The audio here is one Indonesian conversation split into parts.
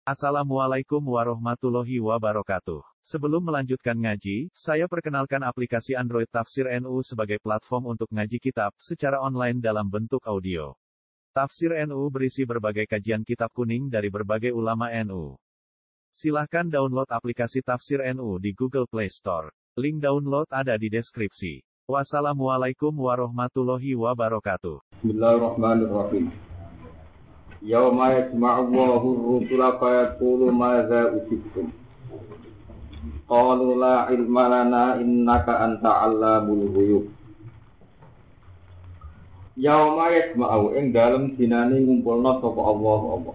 Assalamualaikum warahmatullahi wabarakatuh. Sebelum melanjutkan ngaji, saya perkenalkan aplikasi Android Tafsir NU sebagai platform untuk ngaji kitab secara online dalam bentuk audio. Tafsir NU berisi berbagai kajian kitab kuning dari berbagai ulama NU. Silahkan download aplikasi Tafsir NU di Google Play Store. Link download ada di deskripsi. Wassalamualaikum warahmatullahi wabarakatuh. Bismillahirrahmanirrahim. Yauma yajma'u Allahu ar-rusula fa yaqulu madza ujibtum. Qalu la ilma lana innaka anta 'allamul ghuyub. Yauma yajma'u ing dalem dinane ngumpulna sapa Allah.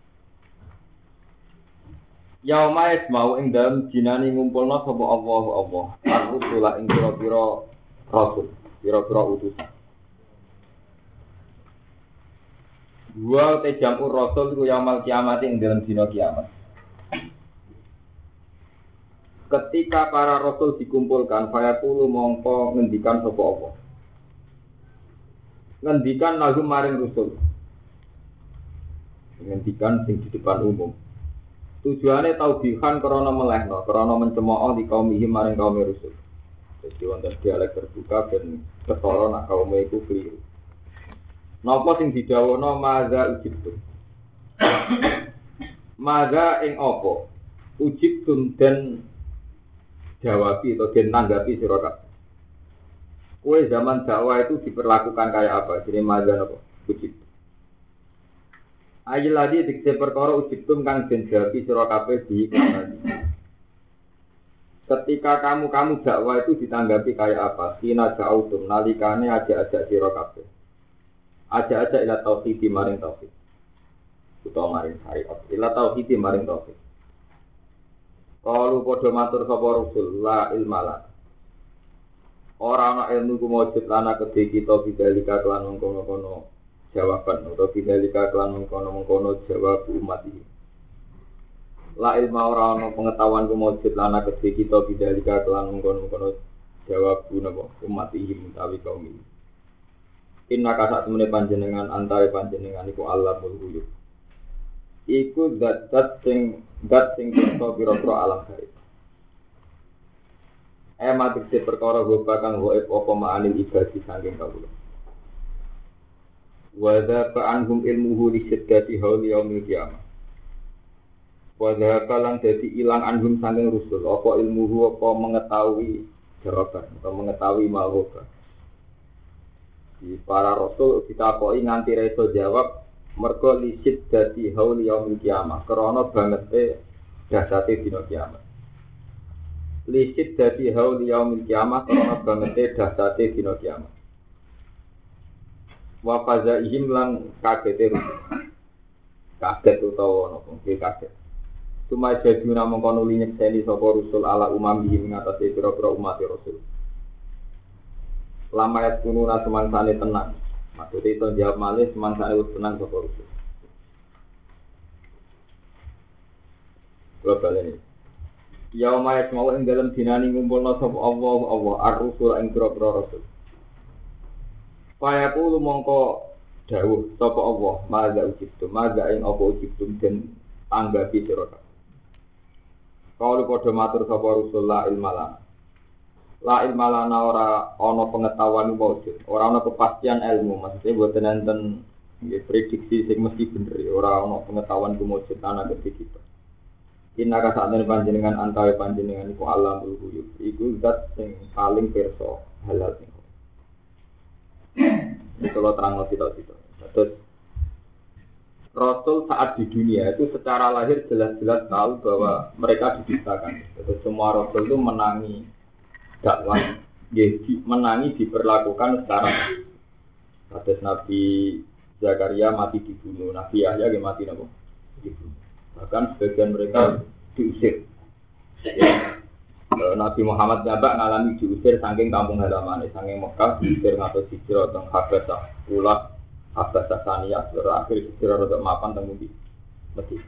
Yauma yajma'u ing dalem dinane ngumpulna sapa Allah. Ar-rusula ing pira-pira rasul, pira-pira utusan. Dua jamu rasul ku yaumul kiamat ing dalam dina kiamat. Ketika para rasul dikumpulkan, fayaqulu mongko ngendikan sapa Allah. Ngendikan lahum maring rasul. Ngendikan sing di depan umum. Tujuane taubihan krana melehno, krana mencemooh di kaum iki maring kaum rasul. Jadi wonten dialek terbuka ben ketara nak kaum iku keliru. Napa sing didhawuhna maza ujibtum. Maza ing apa? Ujibtum den jawabi atau den tanggapi sira kabeh. Kowe zaman dakwah itu diperlakukan kayak apa? Jadi maza napa? Ujibtum. Ayil ladi dikse perkara ujibtum kang den jawabi sira kabeh di ketika kamu dakwah itu ditanggapi kayak apa? Kina ja'utum nalikane ajak-ajak sira kabeh. Aja ila tauhid maring tauhid. Utawa maring syariat. Ila tauhid maring tauhid. Qalu padha matur sapa Rasul la ilmala. Ora ana ilmu ku mujud lana kedhe kita bidalika kelan mengkono-kono jawaban utawa bidalika kelan mengkono-mengkono jawab umat iki. La ilma ora ana pengetahuan ku mujud lana kedhe kita bidalika kelan mengkono-kono jawab umat iki utawi kaum iki. Inna kasak temene panjenengan antare panjenengan iku Allah mulhuyub. Iku dat sing bisa pira-pira alam gaib. Matik se perkara goba kang gaib apa ma'anil ibadi saking kawula. Wa dza anhum ilmuhu li syiddati hauli yaumil qiyamah. Wa dza kalang dadi ilang anhum saking rusul apa ilmuhu apa mengetahui jawaban atau mengetahui ma'rufah. Di para rasul ditakoki nganti reso jawab mergo lisit dadi haul yaumil kiamah krana bangete dahsate dina kiamat. Lisit dadi haul yaumil kiamah krana bangete dahsate dina kiamat. Wa fazaihim lan kagete kaget utawa napa kaget. Cuma jadi namung kono nyekseni sapa rasul ala umami ing atase pira-pira umat rasul. Lama ayat kununa semangsane tenang. Maksudnya itu jawab malih semangsane wis tenang sapa rusul. Global ini. Yauma yasma'u ing dalem dinani ngumpulna sapa Allah ar-rusul ing pira-pira rasul. Fayaqulu mongko dawuh sapa Allah, "Madza ujibtum, madza ing apa ujibtum den anggapi sira kabeh." Kaulu padha matur sapa rusul la ilmalana. La ilma lana ora ana pengetahuan wujud, ora ana kepastian ilmu, maksudnya boten enten prediksi sing mesti bener, ora ana pengetahuan wujud ana kedhi kita. Inna ka sakjane panjenengan antawe panjenengan iku alamul ghuyub, iku zat sing paling pirsa halal sing. Kalau terang kita. Terus Rasul saat di dunia itu secara lahir jelas-jelas tahu bahwa mereka diciptakan. Terus semua Rasul itu menangi dakwah, menangi diperlakukan secara kados Nabi Zakaria mati dibunuh, Nabi Yahya mati dibunuh. Bahkan sebagian mereka diusir. Nabi Muhammad jabak ngalami diusir saking kampung halaman, saking Mekah diusir ngatos hijrah teng Habasah, Ulak, Habasah Saniyah, terakhir hijrah untuk mapan teng Medina.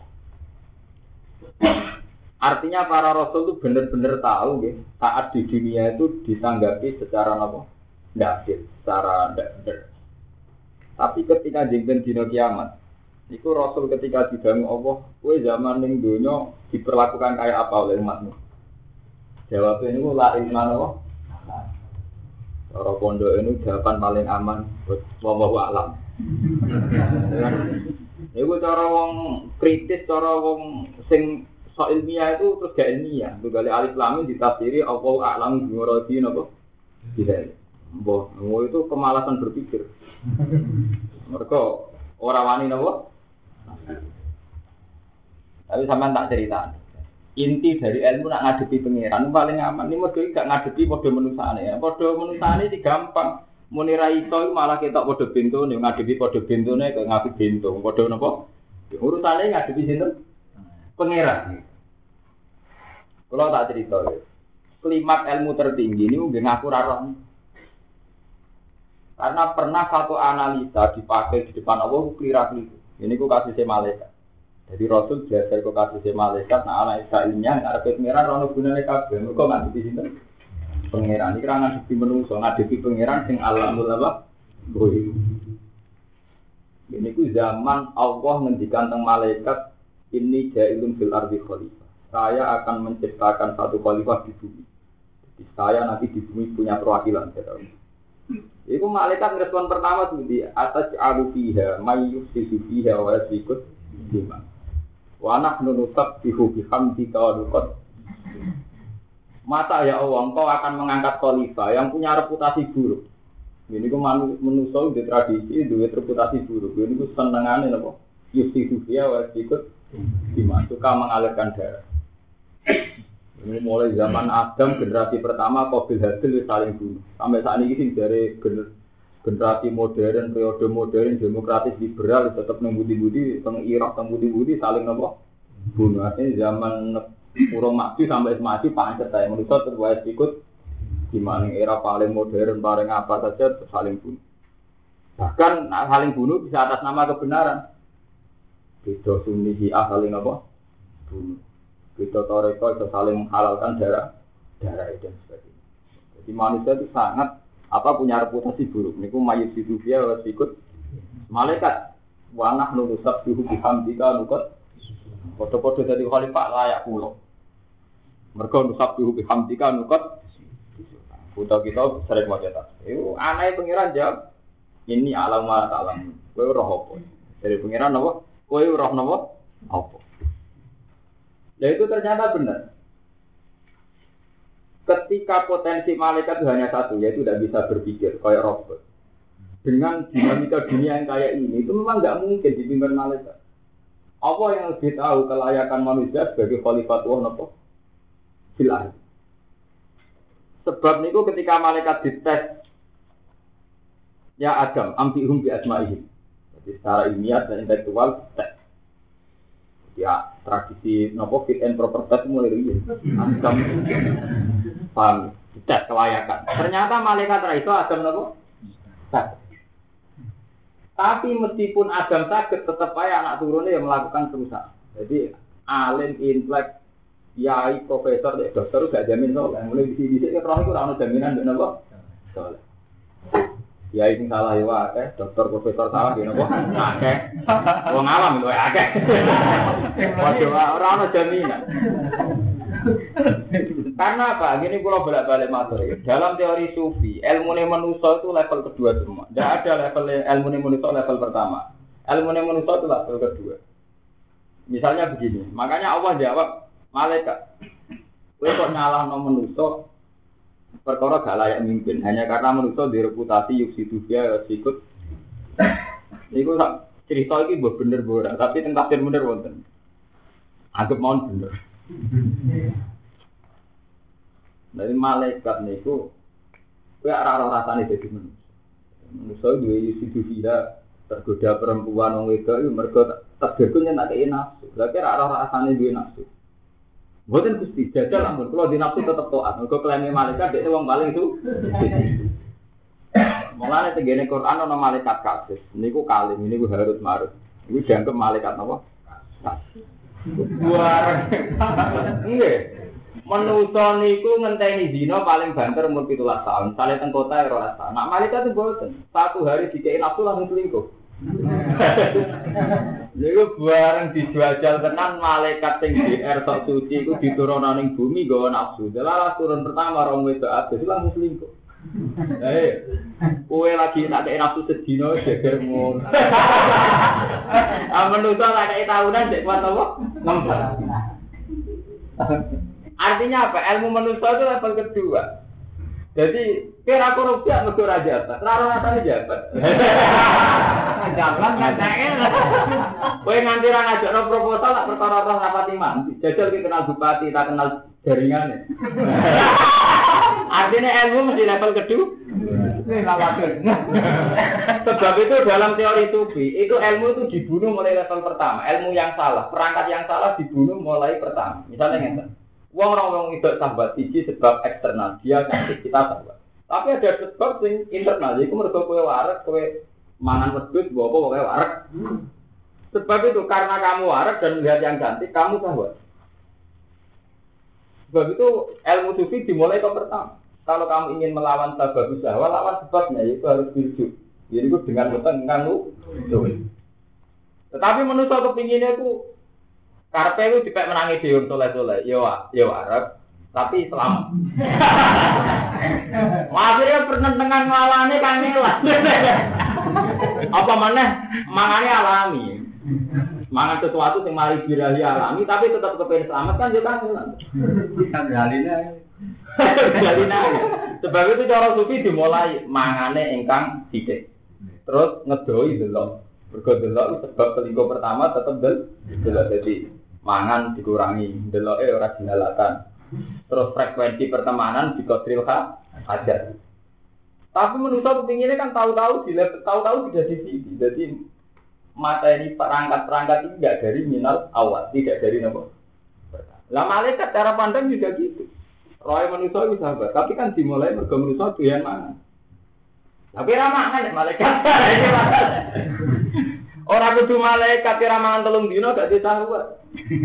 Artinya para rasul itu benar-benar tahu ya, saat di dunia itu ditanggapi secara apa? Tidak adil, secara tidak benar. Tapi ketika jengben dino kiamat, Iku Rasul ketika didangu Allah, kowe zaman ning donya diperlakukan kayak apa oleh umatmu? Jawabnya ini la ilma Allah. Cara pondok ini jawaban paling aman buat wallahu a'lam. Iku cara wong kritis, cara wong sing so ilmiah itu terus gak ilmiah. Tugale alif lam ditafsiri Allahu a'lam bi muradi napa? Tidak. Mbah, itu kemalasan berpikir. Mereka ora wani napa? Tapi sampean tak cerita. Inti dari ilmu nak ngadepi pangeran paling aman. Ini model gak ngadepi model menusane ya. Model menusane iki gampang. Muni ra iso malah ketok padha bentone ngadepi padha bentone kok ngadepi bento. Padha napa? Urusane ngadepi sinten? Pangeran. Kalau tak cerita. Klimak ilmu tertinggi ini nggih ngaku ra roh. Karena pernah satu analisa dipakai di depan Allah kira-kira. Ini ku kasih malaikat. Jadi Rasul biasa ku kasih malaikat, nah analisa ilmiah ngarepe pangeran rono gunane kabeh. Mergo ngadepi sinten? Pangeran iki ra ngadepi menungso, ngadepi pangeran sing alamul apa? Goib. Ini ku zaman Allah ngendikan teng malaikat, ini ja'ilun fil ardi khalifah. Saya akan menciptakan satu khalifah di bumi. Jadi saya nanti di bumi punya perwakilan, saya tahu. Iku malaikat respon pertama tuh di atas alufiha, mayyusifu fiha wa yasikut lima. Wa nahnu nusabbihu bihamdika wa nuqad. Masa ya Allah, engkau akan mengangkat khalifah yang punya reputasi buruk. Ini ku manusia di tradisi, di reputasi buruk. Ini ku senengane napa? Yusifu fiha wa yasikut lima. Suka mengalirkan darah. Ini mulai zaman Adam generasi pertama Qabil Habil saling bunuh. Sampai saat ini sih dari generasi modern, periode modern, demokratis liberal tetap nembudi-budi, teng Irak nembudi-budi saling nopo bunuh. Artinya zaman urung maju sampai maju pancet saya manusia terus ikut di mana era paling modern, paling apa saja saling bunuh. Bahkan saling bunuh bisa atas nama kebenaran. Beda Sunni Syiah saling apa? Bunuh. Kita toreko itu saling menghalalkan darah dan sebagainya. Jadi manusia itu sangat punya reputasi buruk. Niku mayit hidupnya harus ikut malaikat. Wanah nurusab dihu bihamdika nukot. Foto-foto dari khalifah layak pulau. Mereka nurusab dihu bihamdika nukot. Foto kita sering mau cetak. Itu aneh pengiran jawab. Ini alam malah alam. Kau roh apa? Dari pengiran apa? Kau roh apa? Ya itu ternyata benar. Ketika potensi malaikat itu hanya satu, yaitu tidak bisa berpikir kayak robot. Dengan dinamika dunia yang kayak ini, itu memang nggak mungkin dipimpin malaikat. Apa yang lebih tahu kelayakan manusia sebagai khalifatullah napa? Silah. Sebab niku ketika malaikat dites, ya Adam, ambihum bi asma'ihim. Jadi secara ilmiah dan intelektual tes. Ya tradisi nopo fit and proper test mulai riyen. Adam paham tes kelayakan. Ternyata malaikat ra iso Adam nopo? Tes. Tapi meskipun Adam sakit tetap aja anak turunnya yang melakukan perusahaan. Jadi alim intelek yai profesor dokter gak jamin soleh. Mulai di sini kan roh itu ora ono jaminan ndek nopo? Soleh. Ya ini salah ya akeh, dokter profesor salah ya napa? Akeh. Wong alam itu akeh. Waduh ora ono jaminan. Karena apa? Gini kula bolak-balik matur ya. Dalam teori sufi, ilmune manusa itu level kedua semua. Tidak ada level ilmune manusa level pertama. Ilmune manusa itu level kedua. Misalnya begini, makanya Allah jawab malaikat. Kowe kok nyalahno manusa perkara gak layak mimpin hanya karena manusia direputasi yuksidu dia sikut. Niku cerita iki mbok bener ora, tapi teng tafsir bener wonten. Anggap mawon bener. Dari malaikat niku kowe ora rasane dadi manusia. Manusia duwe yuksidu dia tergoda perempuan wong wedok iku mergo takdirku nyenake nafsu. Lha kira ora rasane duwe nafsu. Boten Gusti, jajal ampun kula di nafsu tetep taat. Mergo klaime malaikat dhek wong paling itu. Mulane tengene Quran ana malaikat kasih. Niku kalim, niku harus marut. Niku dianggap malaikat napa? Buar. Nggih. Manusa niku ngenteni zina paling banter umur 17 tahun. Sale teng kota 12 tahun. Nak malaikat itu boten. Satu hari dikei nafsu langsung selingkuh. Iku bareng dijajal tenan malaikat sing DR tok suci iku diturunno ning bumi nggawa nafsu. Delalah turun pertama rong wedok adus langsung selingkuh. Kowe lagi tak kei nafsu sedina geger ngono. Manusa tak kei tahunan sik kuat apa? Ngempet. Artinya apa? Ilmu manusia itu level kedua. Jadi kira korupsi mergo ora jabat, ora rasane jabat. Jabat katane. Kowe nganti ra ngajakno proposal tak perkara roh rapati mandi. Jajal ki kenal bupati, tak kenal jaringane. Artinya ilmu mesti level kedua. Sebab itu dalam teori sufi, itu ilmu itu dibunuh mulai level pertama. Ilmu yang salah, perangkat yang salah dibunuh mulai pertama. Misalnya ngeten. Wong itu sahabat siji sebab eksternal, dia kasih kita sahabat. Tapi ada sebab sing internal, yaiku mergo kowe warak, kowe mangan wedhus, mbok apa kowe warak. Sebab itu karena kamu warak dan melihat yang cantik, kamu sahabat. Sebab itu ilmu sufi dimulai ke pertama. Kalau kamu ingin melawan sebab usaha, lawan sebabnya, yaitu harus hidup. Jadi itu dengan betul kamu. Tetapi manusia kepinginnya itu karpe itu dipek menangi diun soleh-soleh, ya warak, tapi selamat. Akhirnya penentangan ngalane kangelan. Apa maneh mangane alami. Mangan sesuatu yang mari birahi alami, tapi tetap kepengen selamat kan juga kangelan. Galina. Sebab itu cara sufi dimulai mangane ingkang sithik. Terus ngedoi delok. Mergo delok sebab selingkuh pertama tetep delok dadi mangan dikurangi, deloke ora dihalatan. Terus frekuensi pertemanan dikodril aja. Tapi manusia kepinginnya kan tahu-tahu tidak di sini. Jadi materi perangkat-perangkat ini tidak dari minal awal, tidak dari nopo. Lah malaikat cara pandang juga gitu. Roy manusia itu sahabat, tapi kan dimulai mergo manusia doyan mangan. Tapi ramah kan malaikat. Orang kudu malaikat kira mangan 3 dino gak disahabat.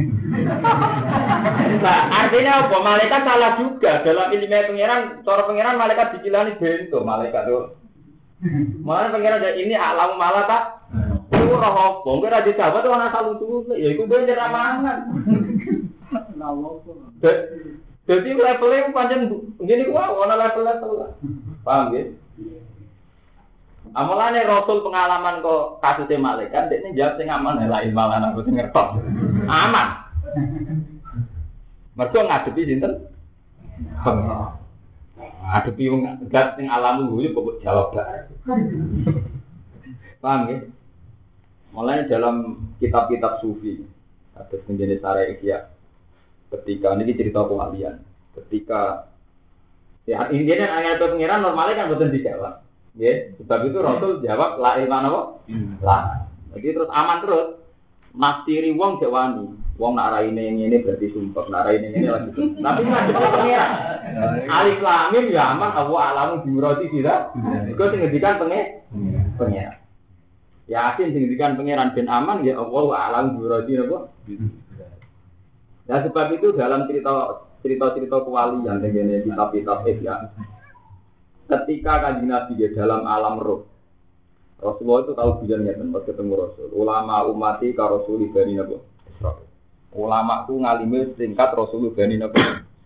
Nah, artinya apa? Malaikat salah juga dalam ilmu pengiran. Cara pengiran malaikat dicilani bento malaikat itu. Malah pengiran ini alam malaikat. Itu roh apa? Mungkin ada sahabat itu ana salutu. Ya iku ben mangan. Jadi levelnya pancen ngene ku ana level-level. Paham nggih? Amalane Rasul pengalaman kok kasusnya malaikat, dia jawab sing aman lain malah aku sing ngertos. Aman. Mergo ngadepi sinten? Ngadepi wong zat sing alam guyu kok jawab bae. Paham nggih? Mulane dalam kitab-kitab sufi ada penjenis syariat ya. Ketika ini cerita kewalian. Ketika ya intinya ayat pengiran normalnya kan boten dijawab. Ya, sebab itu Rasul jawab la ilma apa? La. Jadi terus aman terus. Nastiri wong jawani. Wong nak raine ngene berarti sumpah, nak raine ngene lagi. Tapi ngadep pengira. Alif lam mim ya aman Allah alamu biurati tidak. Iku sing ngendikan pengira. Yasin sing ngendikan pengiran ben aman ya Allah alamu biurati napa? Ya sebab itu dalam cerita kewalian dengan kitab-kitab ya. Ketika Kanjeng Nabi dalam alam roh, Rasulullah itu tahu bijannya tempat ketemu Rasul. Ulama umati ka Rasul Bani Nabi. Ulama ku ngalime tingkat Rasul Bani Nabi.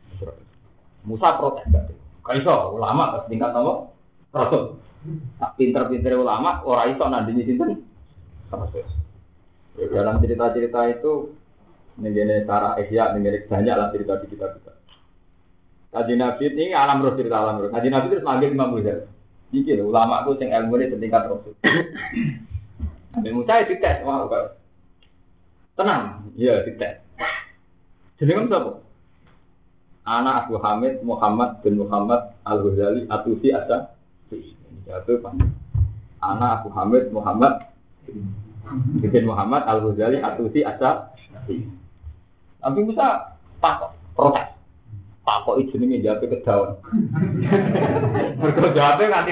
Musa protes gak? Kaiso ulama tingkat apa? Rasul. Tak pinter-pinter ulama ora iso nandingi sinten? Rasul. Dalam cerita-cerita itu ngene cara ihya ngene banyak lah cerita di kitab-kitab. Kanjeng Nabi ini alam roh cerita alam roh. Kanjeng Nabi terus manggil Imam Ghazali. Iki lho ulama ku sing ilmune setingkat Rasul. Nabi Musa dites wah kok. Tenang, iya dites. Jenenge sapa? Anak Abu Hamid Muhammad bin Muhammad Al-Ghazali Atusi Asa. Jatuh Pak. Anak Abu Hamid Muhammad bin Muhammad Al-Ghazali Atusi Asa. Nabi Musa takok protes. Kok iki jenenge jawabe kedawan. Mergo jawabe nganti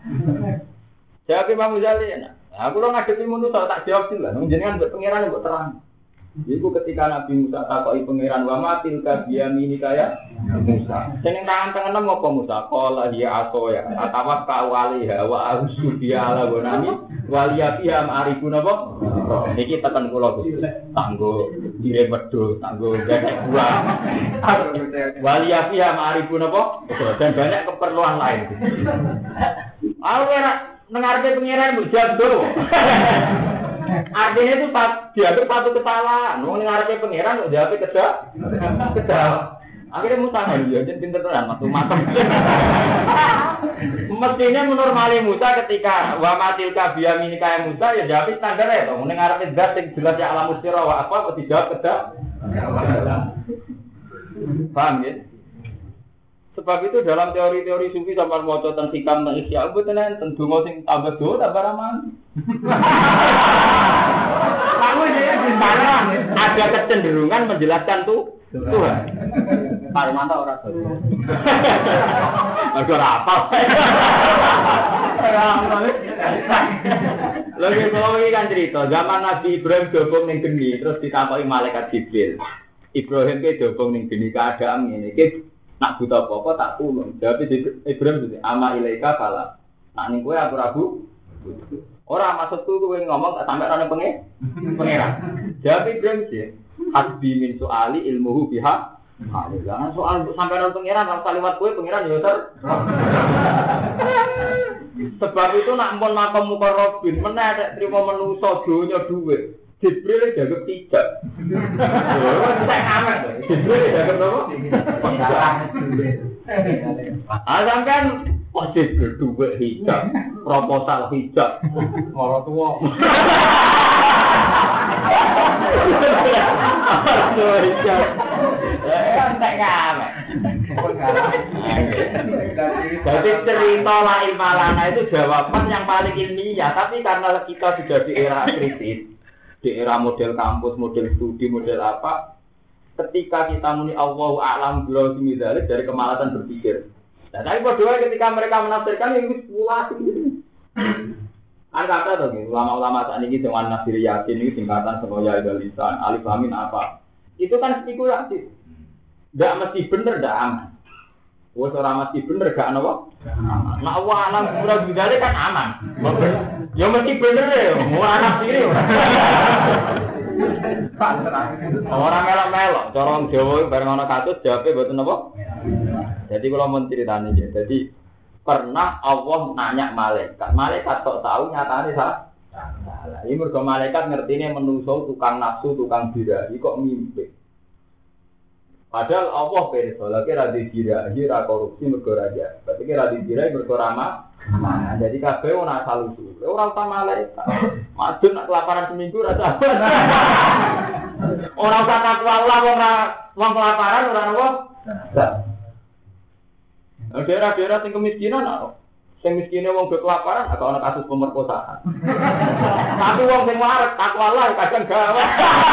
6. Jawab Imam Ghazali enak. Aku lo ngadepi manusa tak jawab sih lah. Jenengan mbek pangeran mbok terang. Iku ketika Nabi Musa takoki pangeran wa matil ka biyamini kaya Musa. Sing tangan tengen apa Musa? Qala ya aso ya. Atawa kawali wa ausudia ala gonami waliyafiha ma'arifun apa? Iki tekan kula Gusti. Tanggo dire wedhus, tanggo gagak buah. Waliyafiha ma'arifun apa? Dan banyak keperluan lain. Aku ora nengarpe pengiran mbok jado. Artinya itu dianggap satu kesalahan. Wong nengarpe pengiran kok jawab kedah. Akhirnya Musa ya, jadi pinter tenan matu-matu. Mestinya menormali Musa ketika wa matilka biyaminika Musa ya jawab standar ya to. Nengarpe zat sing jelas ya alam mustira wa apa kok dijawab kedah. Paham ya? Sebab itu dalam teori-teori sufi sampean maca teng hikam teng isya mboten enten donga sing tambah do tambah raman. Kamu ini di mana ada kecenderungan menjelaskan Tuhan. Pak Romanto ora dodo. Mergo ora apal. Lagi kalau ini kan cerita zaman Nabi Ibrahim dobong ning geni terus ditakoki malaikat Jibril. Ibrahim ke dobong ning geni keadaan ngene iki nak buta apa tak tulung. Jawab Ibrahim ama ilaika fala. Nak ning kowe aku rabu. Ora maksudku kowe ngomong tak sampe ana pengeran. Jawab Ibrahim sih. Hasbi min soali ilmuhu biha. Jangan soal sampai ana pengeran ora liwat kowe pengeran ya ter. Sebab itu nak mun makom mukarrabin meneh nek trimo menungso donya dhuwit. Jibril dianggap tidak. Tidak aman. Jibril dianggap apa? Sampai kok Jibril duwe hijab, proposal hijab, moro tua. Tak aman. Jadi cerita la ilmalana itu jawaban yang paling ilmiah, tapi karena kita sudah di era kritis. Di era model kampus, model studi, model apa, ketika kita muni Allahu a'lam billahimidalik dari kemalasan berpikir. Nah, tapi berdua ketika mereka menafsirkan ini spekulasi gitu. Kan kata tuh, ulama-ulama saat ini dengan Nasir Yasin ini singkatan Semoya Idalisan, Alif Amin apa? Itu kan spekulasi. Tidak mesti benar, tidak aman. Wah, orang mesti benar, gak apa? Nah, Allah alam billahimidalik kan aman. Ya mesti bener ya, mau anak sendiri. Orang melok-melok, corong Jawa bareng ana kasus jawabe mboten apa? Jadi kalau mau ceritanya ya, jadi pernah Allah nanya malaikat kok tahu nyatane salah. Ini mergo malaikat ngertine menungso tukang nafsu, tukang birahi kok mimpi. Padahal Allah pirsa, lagi ra dikirahi ra korupsi mergo raja. Berarti ra dikirahi mergo ramah. Nah, jadi kabeh ora asal usul. Ora usah malaikat. Madun nak kelaparan seminggu ra sabar. Ora usah takwa Allah wong kelaparan ora apa? Daerah-daerah sing kemiskinan ana. Sing miskine wong do kelaparan agak ana kasus pemerkosaan. Tapi wong sing waras takwa Allah kadang gawe.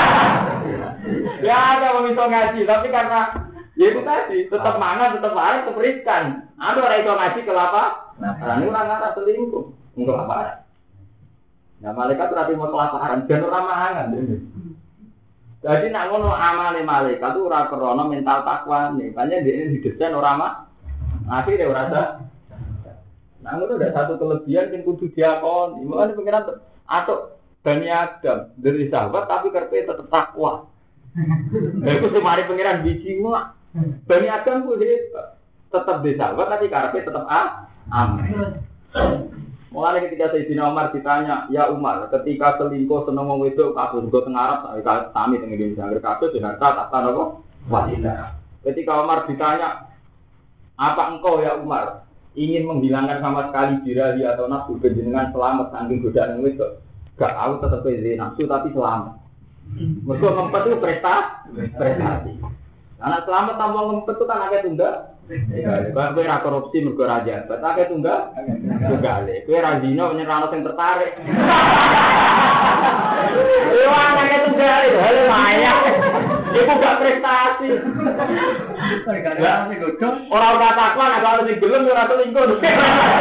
Ya ada wong iso ngaji, tapi karena ya itu tadi tetap mangan, tetap waras, tetap riskan. Ada orang iso ngaji kelaparan. Nah, ini orang selingkuh, enggak kelaparan. Nah, malaikat berarti mau kelaparan, dan orang mangan. Jadi nak ngono amale malaikat itu ora krana mental takwa nih. Makanya dia ini didesain ora mah. Akhirnya ora ada. Nah, ngono ada satu kelebihan yang kudu diakoni. Mulane pengiran atau Bani Adam dari sahabat tapi kerpe tetap takwa. Lha iku semari pengiran biji mah. Bani Adam ku tetap di sahabat tapi karpe tetap aman. Mulai ketika Sayyidina Umar ditanya, ya Umar, ketika selingkuh seneng wong wedok kasus go teng Arab sami teng Indonesia angger kasus harta tak apa wanita. Ketika Umar ditanya, apa engkau ya Umar ingin menghilangkan sama sekali birahi atau nafsu dengan selamat saking godaan wedok? Gak tahu tetap jadi nafsu tapi selamat. Mergo ngempet itu prestasi. Anak selamat tanpa ngempet itu kan agak tunggal. Kalau kowe ra korupsi mergo ra jabat, akeh tunggal. Tunggale. Kowe ra zina nyerano sing tertarik. Wah, akeh tunggale, hale maya. Iku gak prestasi. Ora ora takwa nek kalau sing gelem ora selingkuh.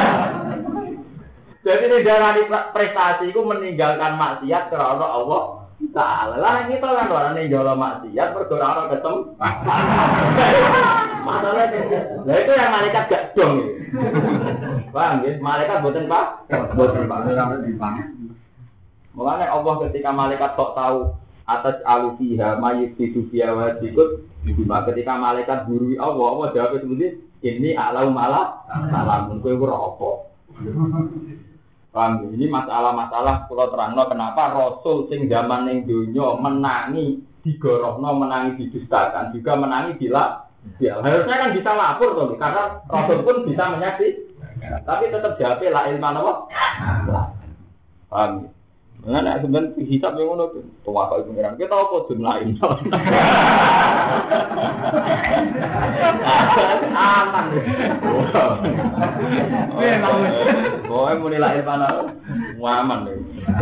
Jadi ini darah prestasi itu meninggalkan maksiat karena Allah Salah lah kita kan orang ini jual maksiat berdoa ketemu. Masalahnya, lah itu yang malaikat gak dong. Paham ya? Malaikat buatan pak, buatan pak. Makanya Allah ketika malaikat tak tahu atas alufiha mayit hidupiya wajibut, ketika malaikat gurui Allah jawab seperti ini alau malah salam untuk rokok. Paham? Ini masalah-masalah kalau terangno kenapa Rasul sing zaman ning donya menangi digorohno, menangi didustakan, juga menangi bila ya harusnya kan bisa lapor toh, karena Rasul pun bisa menyaksikan. Tapi tetap jawab la ilma apa? Paham? Nah, sebenarnya hisab yang ngono tuh kok pengiran. Kita apa dun lain. Aman. Boy muni la ilmu aman deh.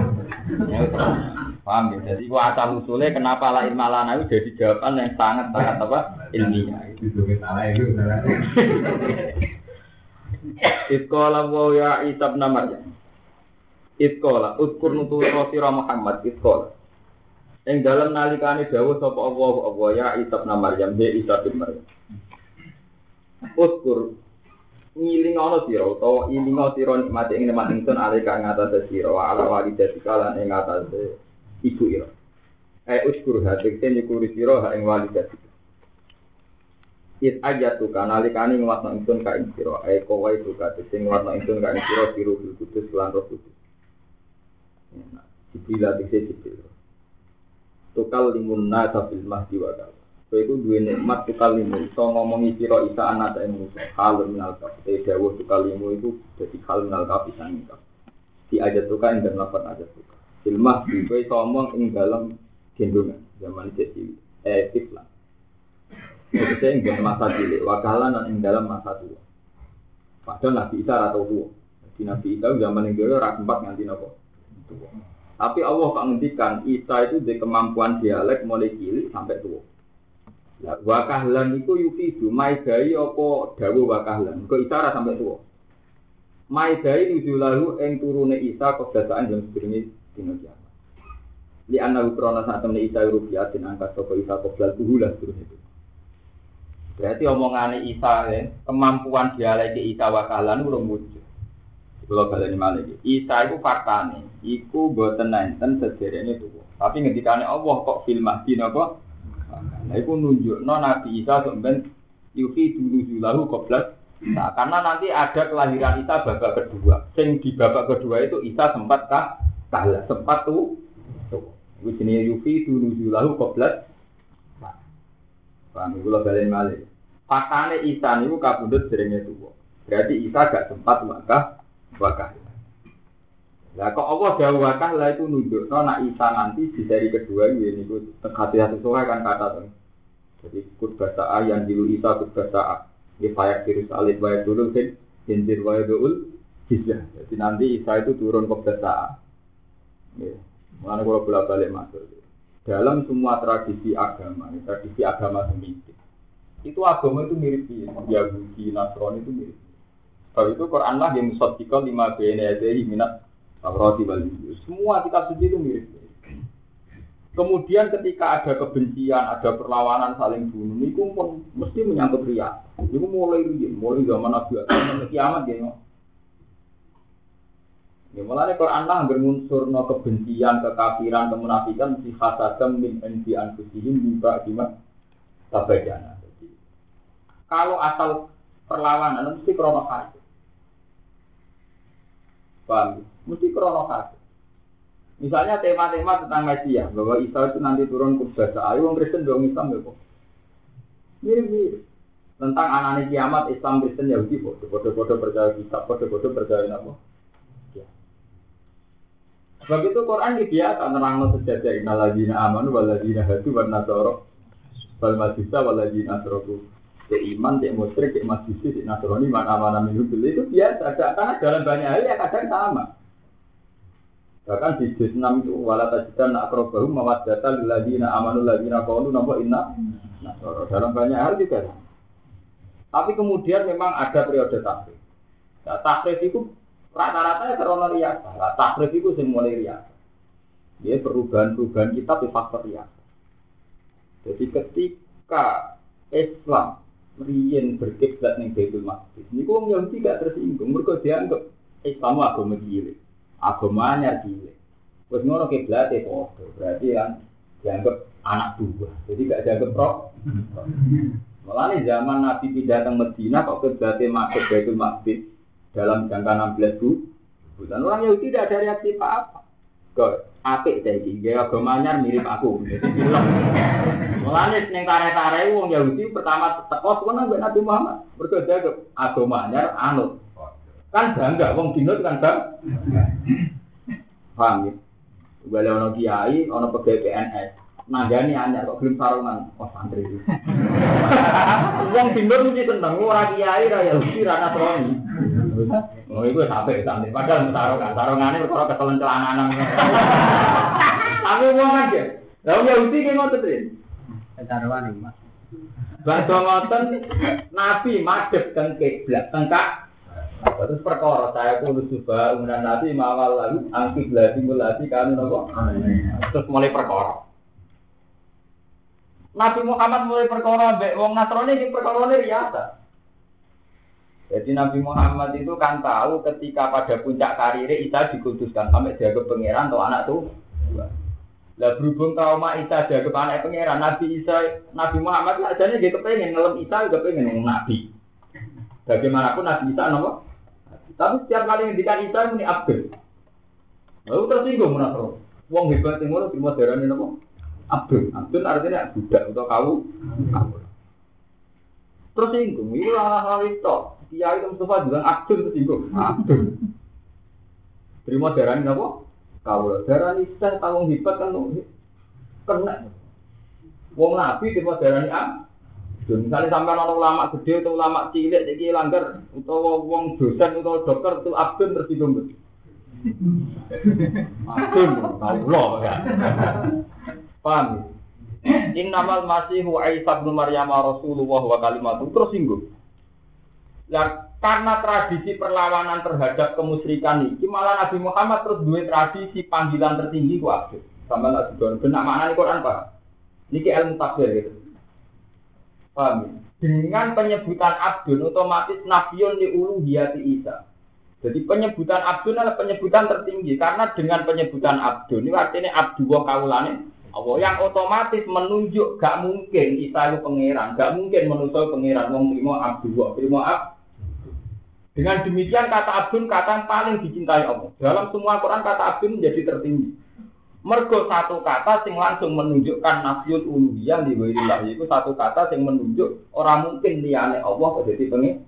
Paham ya? Jadi asal usulnya kenapa la ilmu lana itu jadi jawaban yang sangat apa? Ilmiah. Iskola wa ya isab namanya. Itkola, utkur nutul rosira Muhammad itkola. Yang dalam nalikane dawuh sapa Allah ya Isa bin Maryam, ya Isa bin Maryam. Utkur ngiling ana sira utawa ilinga sira nikmate ing nikmat ingsun alika ngatas sira wa ala walidatika lan ing ngatas ibu ira. Utkur hatekte nyukuri sira ha ing walidatika. It ajatu kanalikane ngwatno ingsun ka ing sira, kowe suka sing ngwatno ingsun ka ing sira biru kudus lan roh kudus. Jibril Jibril tukal limun nasa fil mahdi wa kal. So itu dua nikmat tukal limun. So ngomongi sira Isa anak ing Musa. Hal minal kaf. Dawuh tukal limun itu dadi hal minal kaf sang kaf. Di ajat tukal ing dalam lafaz ajat tukal. Fil mahdi kowe ngomong ing dalam gendongan zaman jadi tiflan. Maksudnya ing dalam masa cilik wakalan ing dalam masa tua. Padahal Nabi Isa atau tua. Nabi Isa zaman yang dulu ora sempat nganti napa. Tapi Allah kok ngendikan Isa itu di kemampuan dialek mulai cilik sampai tua. Lah wakahlan itu yufidu maidai apa dawuh wakahlan. Kok Isa ora sampai tua. Maidai nuzulahu ing turune Isa kebiasaan jam sedurunge dina kiamat. Li anna ukrona sak temne Isa rubiatin angkat sapa Isa qoblal tuhulah terus itu. Berarti omongane Isa kemampuan dialek Isa wakahlan urung wujud. Kalau kalian malah Isa itu faktane, iku boten nenten sederene tuwa. Tapi ngendikane Allah kok fil mahdi napa? Nah iku nunjukno Nabi Isa sampeyan yufi dulu qabla. Nah, karena nanti ada kelahiran Isa babak kedua. Sing di babak kedua itu Isa sempat kalah, sempat tuh. Iku jenenge yufi dulu qabla. Paham kula kalian malah. Faktane Isa niku kabundut derenge tuwa. Berarti Isa gak sempat wakah. Lah kok Allah dawuh wakah lah itu nunjukno nek Isa nanti di seri kedua ini niku hati-hati sesuai kan kata to. Jadi kut bahasa yang dilu Isa kut bahasa di fayak virus alif wa dulu kan jinjir wa dul jizah. Jadi nanti Isa itu turun ke bahasa. Ya. Mulane kula bolak-balik matur. Dalam semua tradisi agama Semitik. Itu agama itu mirip Yahudi, Nasrani itu mirip. Kalau itu Quran lah yang musaddiqal lima bayna yadayhi minat Taurat wal Injil. Semua kitab suci itu mirip. Kemudian ketika ada kebencian, ada perlawanan saling bunuh, itu pun mesti menyangkut riya. Itu mulai zaman Nabi sampai kiamat ya. Ya mulane Quran lah bermunsurno kebencian, kekafiran, kemunafikan si hasadam min indi anfusihim juga gimana tabajana. Kalau asal perlawanan mesti krono khas. Paham? Mesti krono khas. Misalnya tema-tema tentang Mesias, bahwa Isa itu nanti turun ke bahasa ayu, orang Kristen dong Islam ya kok. Mirip-mirip. Tentang anane kiamat Islam Kristen Yahudi, bodoh-bodoh percaya kitab, bodoh-bodoh percaya apa? Ya. Sebab itu Quran biasa nerangno sejajar innalladzina amanu walladzina hadu wan nasara wal majusa walladzina asyraku. Iman, musyrik, majusi, nasrani, mana-mana minum itu biasa. Karena dalam banyak hal yang kadang sama. Bahkan di juz 6 itu wala tajidan aqrabahum mawaddatan lil ladzina amanu ladzina qalu napa inna nasara. Dalam banyak hal juga. Tapi kemudian memang ada periode takrif. Nah, takrif itu rata-rata ya karena riya. Nah, takrif itu sing mulai riya. Ya perubahan-perubahan kitab di faktor ya. Jadi ketika Islam riyen berkiblat ning Baitul Maqdis, niku wong Yahudi gak tersinggung, mergo dianggap Islam agama cilik, agama anyar cilik. Wes ngono kiblate padha, berarti kan dianggap anak buah. Jadi gak dianggap roh. Mulane zaman Nabi pindah ke Madinah kok kiblate masuk Baitul Maqdis dalam jangka 16 bulan. Orang Yahudi tidak ada reaksi apa-apa. Kok apik ta iki, gaya agama anyar mirip aku. Mulane ning tare-tare wong Yahudi pertama teko sono mbek Nabi Muhammad. Mergo dianggap agama anyar anut. Kan bangga wong dinut kan bang. Paham ya? Bale ono kiai, ono pegawai PNS. Nanggani anyar kok gelem sarungan. Oh santri iki. Wong dinut mesti seneng ora kiai ra Yahudi ra Nasrani. Oh iku sampe santri padahal sarungane perkara ketelen celananan. Tapi wong kan ya. Lah wong Yahudi ki ngoten tri. Ketaruan iki, Mas. Badhe ngoten Nabi madhep teng kiblat tengkak. Terus perkara saya kudu coba umuran Nabi mawal lalu angkib lati kan napa. Terus mulai perkara. Nabi Muhammad mulai perkara mbek wong Nasrani iki perkarane riasa. Jadi Nabi Muhammad itu kan tahu ketika pada puncak karirnya Isa dikuduskan sampai dianggap pangeran atau anak tuh. Lah berhubung trauma Isa dianggap anak pangeran, Nabi Muhammad lah jane dia kepengen ngelem Isa juga pengen ngomong Nabi. Bagaimanapun Nabi Isa napa? Tapi setiap kali ngendikan Isa muni Abdul. Lalu tersinggung menapa? Wong hebat sing ngono terima darane napa? Abdul. Abdul artinya budak atau kau. Tersinggung, itu hal-hal itu. Kiai Mustafa bilang Abdul tersinggung. Abdul. Terima darane napa? Kau darane Isa tanggung hebat kan kena. Wong Nabi terima darane misalnya sampai orang ulama gede atau ulama cilik jadi langgar atau wong dosen atau dokter itu abdun tersinggung. Abdun, Allah ya. Paham? Innamal Masihu Isa bin Maryam Rasulullah wa kalimatuh tersinggung. Ya, karena tradisi perlawanan terhadap kemusyrikan ini, malah Nabi Muhammad terus duwe tradisi panggilan tertinggi ku abdun. Sampai tak didon benak makna di Quran Pak. Niki ilmu tafsir gitu. Paham? Dengan penyebutan Abdun otomatis nafiyun li uluhiyati Isa. Jadi penyebutan Abdun adalah penyebutan tertinggi karena dengan penyebutan Abdun ini artinya Abdullah kaulane Allah yang otomatis menunjuk gak mungkin Isa itu pangeran, gak mungkin manusia pangeran wong trimo Abdullah, trimo Dengan demikian kata Abdun kata yang paling dicintai Allah. Dalam semua Quran kata Abdun menjadi tertinggi. Mergo satu kata sing langsung menunjukkan nafiyul uluhiyah li ghairillah itu satu kata sing menunjuk orang mungkin liyane Allah kok dadi pengen.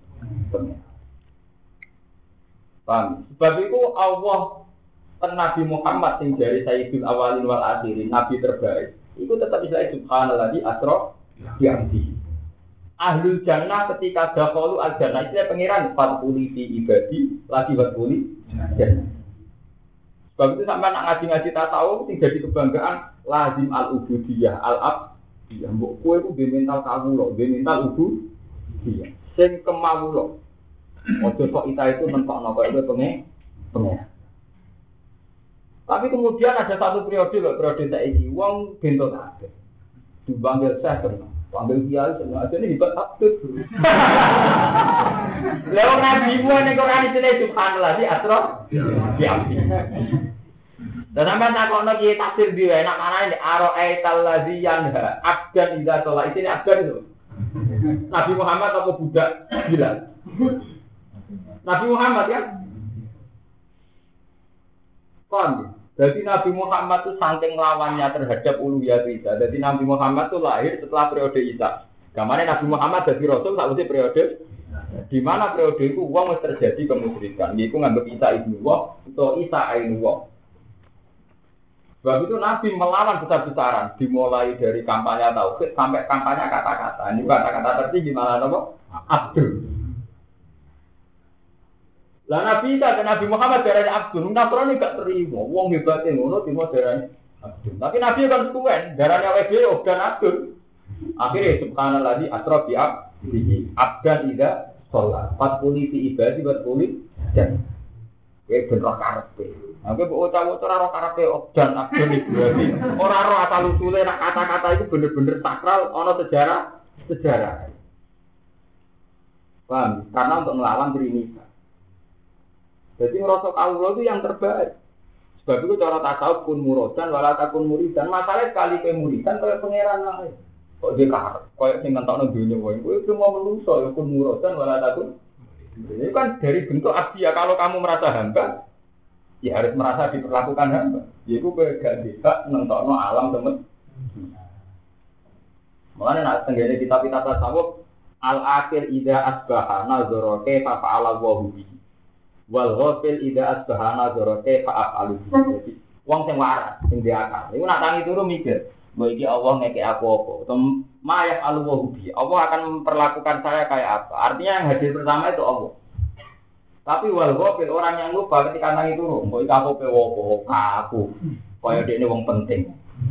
Paham? Sebab itu Allah Nabi Muhammad sing dari Sayyidul Awalin wal Akhirin, Nabi terbaik. Itu tetap bisa subhanalladzi asra bi abdihi. Ahlul jannah ketika dakhalu al jannah itu pangeran fatuli fi ibadi lagi fatuli jannah. Sebab itu sampai nak ngaji-ngaji tasawuf sing jadi kebanggaan lazim al-ubudiyah al-abdiyah. Mbok kowe ku mental kawula, mental ubudiyah. Sing kemawula. Ojo kok Isa itu mentokno kok itu pengen. Tapi kemudian ada satu periode saiki wong bento kabeh. Dipanggil Syekh tenan. Panggil kiai tenan. Ajane hebat abdul. Lah wong nabi ku nek ora dicene subhanallah di asra. Dan sampai tak kono kiai tafsir di enak mana ini aro'aital ladzi yanha abdan idza sholat ini abdan itu. Nabi Muhammad apa budak bilang? Nabi Muhammad ya. Kon. Jadi Nabi Muhammad itu saking lawannya terhadap uluhiyah Isa. Jadi Nabi Muhammad itu lahir setelah periode Isa. Gamane Nabi Muhammad jadi rasul sakwise periode di mana periode itu wong terjadi kemusyrikan. Iku nganggep Isa ibnu Allah atau Isa ainu Allah. Sebab itu Nabi melawan besar-besaran, dimulai dari kampanye tauhid sampai kampanye kata-kata. Ini kata-kata tertinggi malah apa? Abdul. Lah Nabi Isa dan Nabi Muhammad darane Abdul, Nasrani gak terima. Wong hebate ngono terima darane Abdul. Tapi Nabi kan suwen, darane awake dhewe dan Abdul. Akhirnya subhanalladzi asra bi abdihi abdan idza sholat. Fatquli fi ibadi wa quli jan. ben roh karepe. Aku bocah-bocah ora roh karepe dan abdon Ibrahim. Ora roh asal usule nek kata-kata itu bener-bener sakral ana sejarah. Paham? Karena untuk melawan Trinita. Jadi ngerasa kawula itu yang terbaik. Sebab itu cara tasawuf kun muradan wala takun muridan. Masalah sekali ke muridan kaya pangeran lain. Kok dia karep kaya sing ngentokno donya wae. Kowe cuma menungso ya kun muradan wala takun. Ini kan dari bentuk abdi ya kalau kamu merasa hamba ya harus merasa diperlakukan hamba. Yaiku kowe gak bisa ngentokno alam temen. Mulane nek tenggene kitab-kitab tasawuf al-akhir idza asbaha nazara kaifa fa'ala wa bihi. Wal ghafil idza asbaha nazara kaifa af'alu. Jadi wong sing waras, sing diakal. Iku nak tangi turu mikir, "Mbok iki Allah ngekek aku apa?" Utawa ma yaf'alu wa bihi. Allah akan memperlakukan saya kayak apa? Artinya yang hadir pertama itu Allah. Tapi wal ghafil orang yang lupa ketika tangi turu, "Mbok iki aku pewo aku." Kaya dekne wong penting.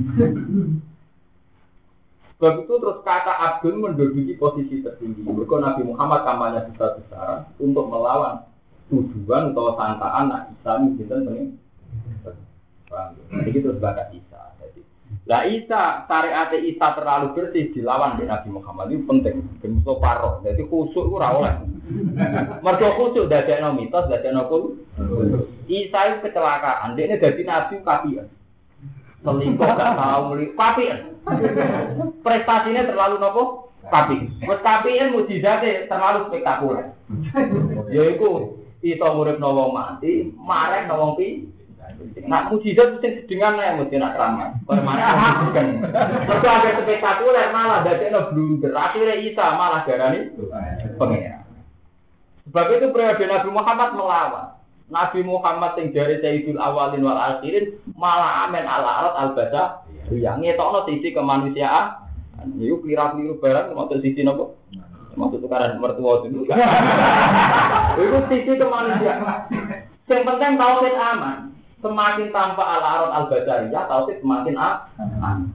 Sebab itu terus kata Abdul menduduki posisi tertinggi. Mereka Nabi Muhammad kampanye besar-besaran untuk melawan tujuan atau sangkaan nak Isa ini kita pengen. Jadi itu sebagai Isa. Lah Isa syariat Isa terlalu bersih dilawan di Nabi Muhammad itu penting. Bentuk paroh. Jadi khusyuk itu rawol. Mergo khusyuk dadekno mitos, dadekno kul. Isa itu kecelakaan. Dia ini jadi Nabi kafian. Selingkuh gak tahu muli kafian. Prestasinya terlalu nopo kapi. Wes kapian mukjizate terlalu spektakuler. Yaiku iso nguripno wong mati, marek wong pi. Nak mukjizat mesti sedengan ae mesti nak ramah. Permane kan. Mergo agak spektakuler malah dadekno blunder. Akhire Isa malah darani pengira. Sebab itu periode Nabi Muhammad melawan. Nabi Muhammad sing jare Sayyidul Awalin wal Akhirin malah amen ala al-basa. Ya ngetokno sisi kemanusiaan. Niku kira-kira barang maksud sisi napa? Maksud tukaran mertua itu. Itu sisi kemanusiaan. Yang penting tauhid aman. Semakin tanpa al-arad al-basariyah tauhid semakin aman.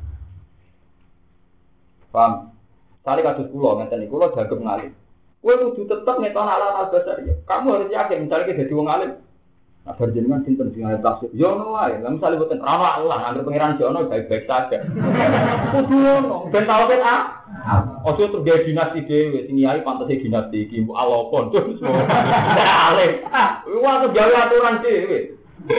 Paham? Kali kados kula ngeten niku kula jagem ngalih. Kowe kudu tetep ngetokno al-arad al-basariyah. Kamu harus yakin misalnya kita dadi wong alim. Nah, berjenengan sinten sing arep tafsir? Yo ono wae. Lah misale boten ana Allah, anggere pangeran jono baik-baik saja. Kudu ono, ben tau ben ojo terjadi dinasti dhewe, sing yai pantese dinasti iki mbok alopon terus. Alim. Wah, tuh gawe aturan dhewe.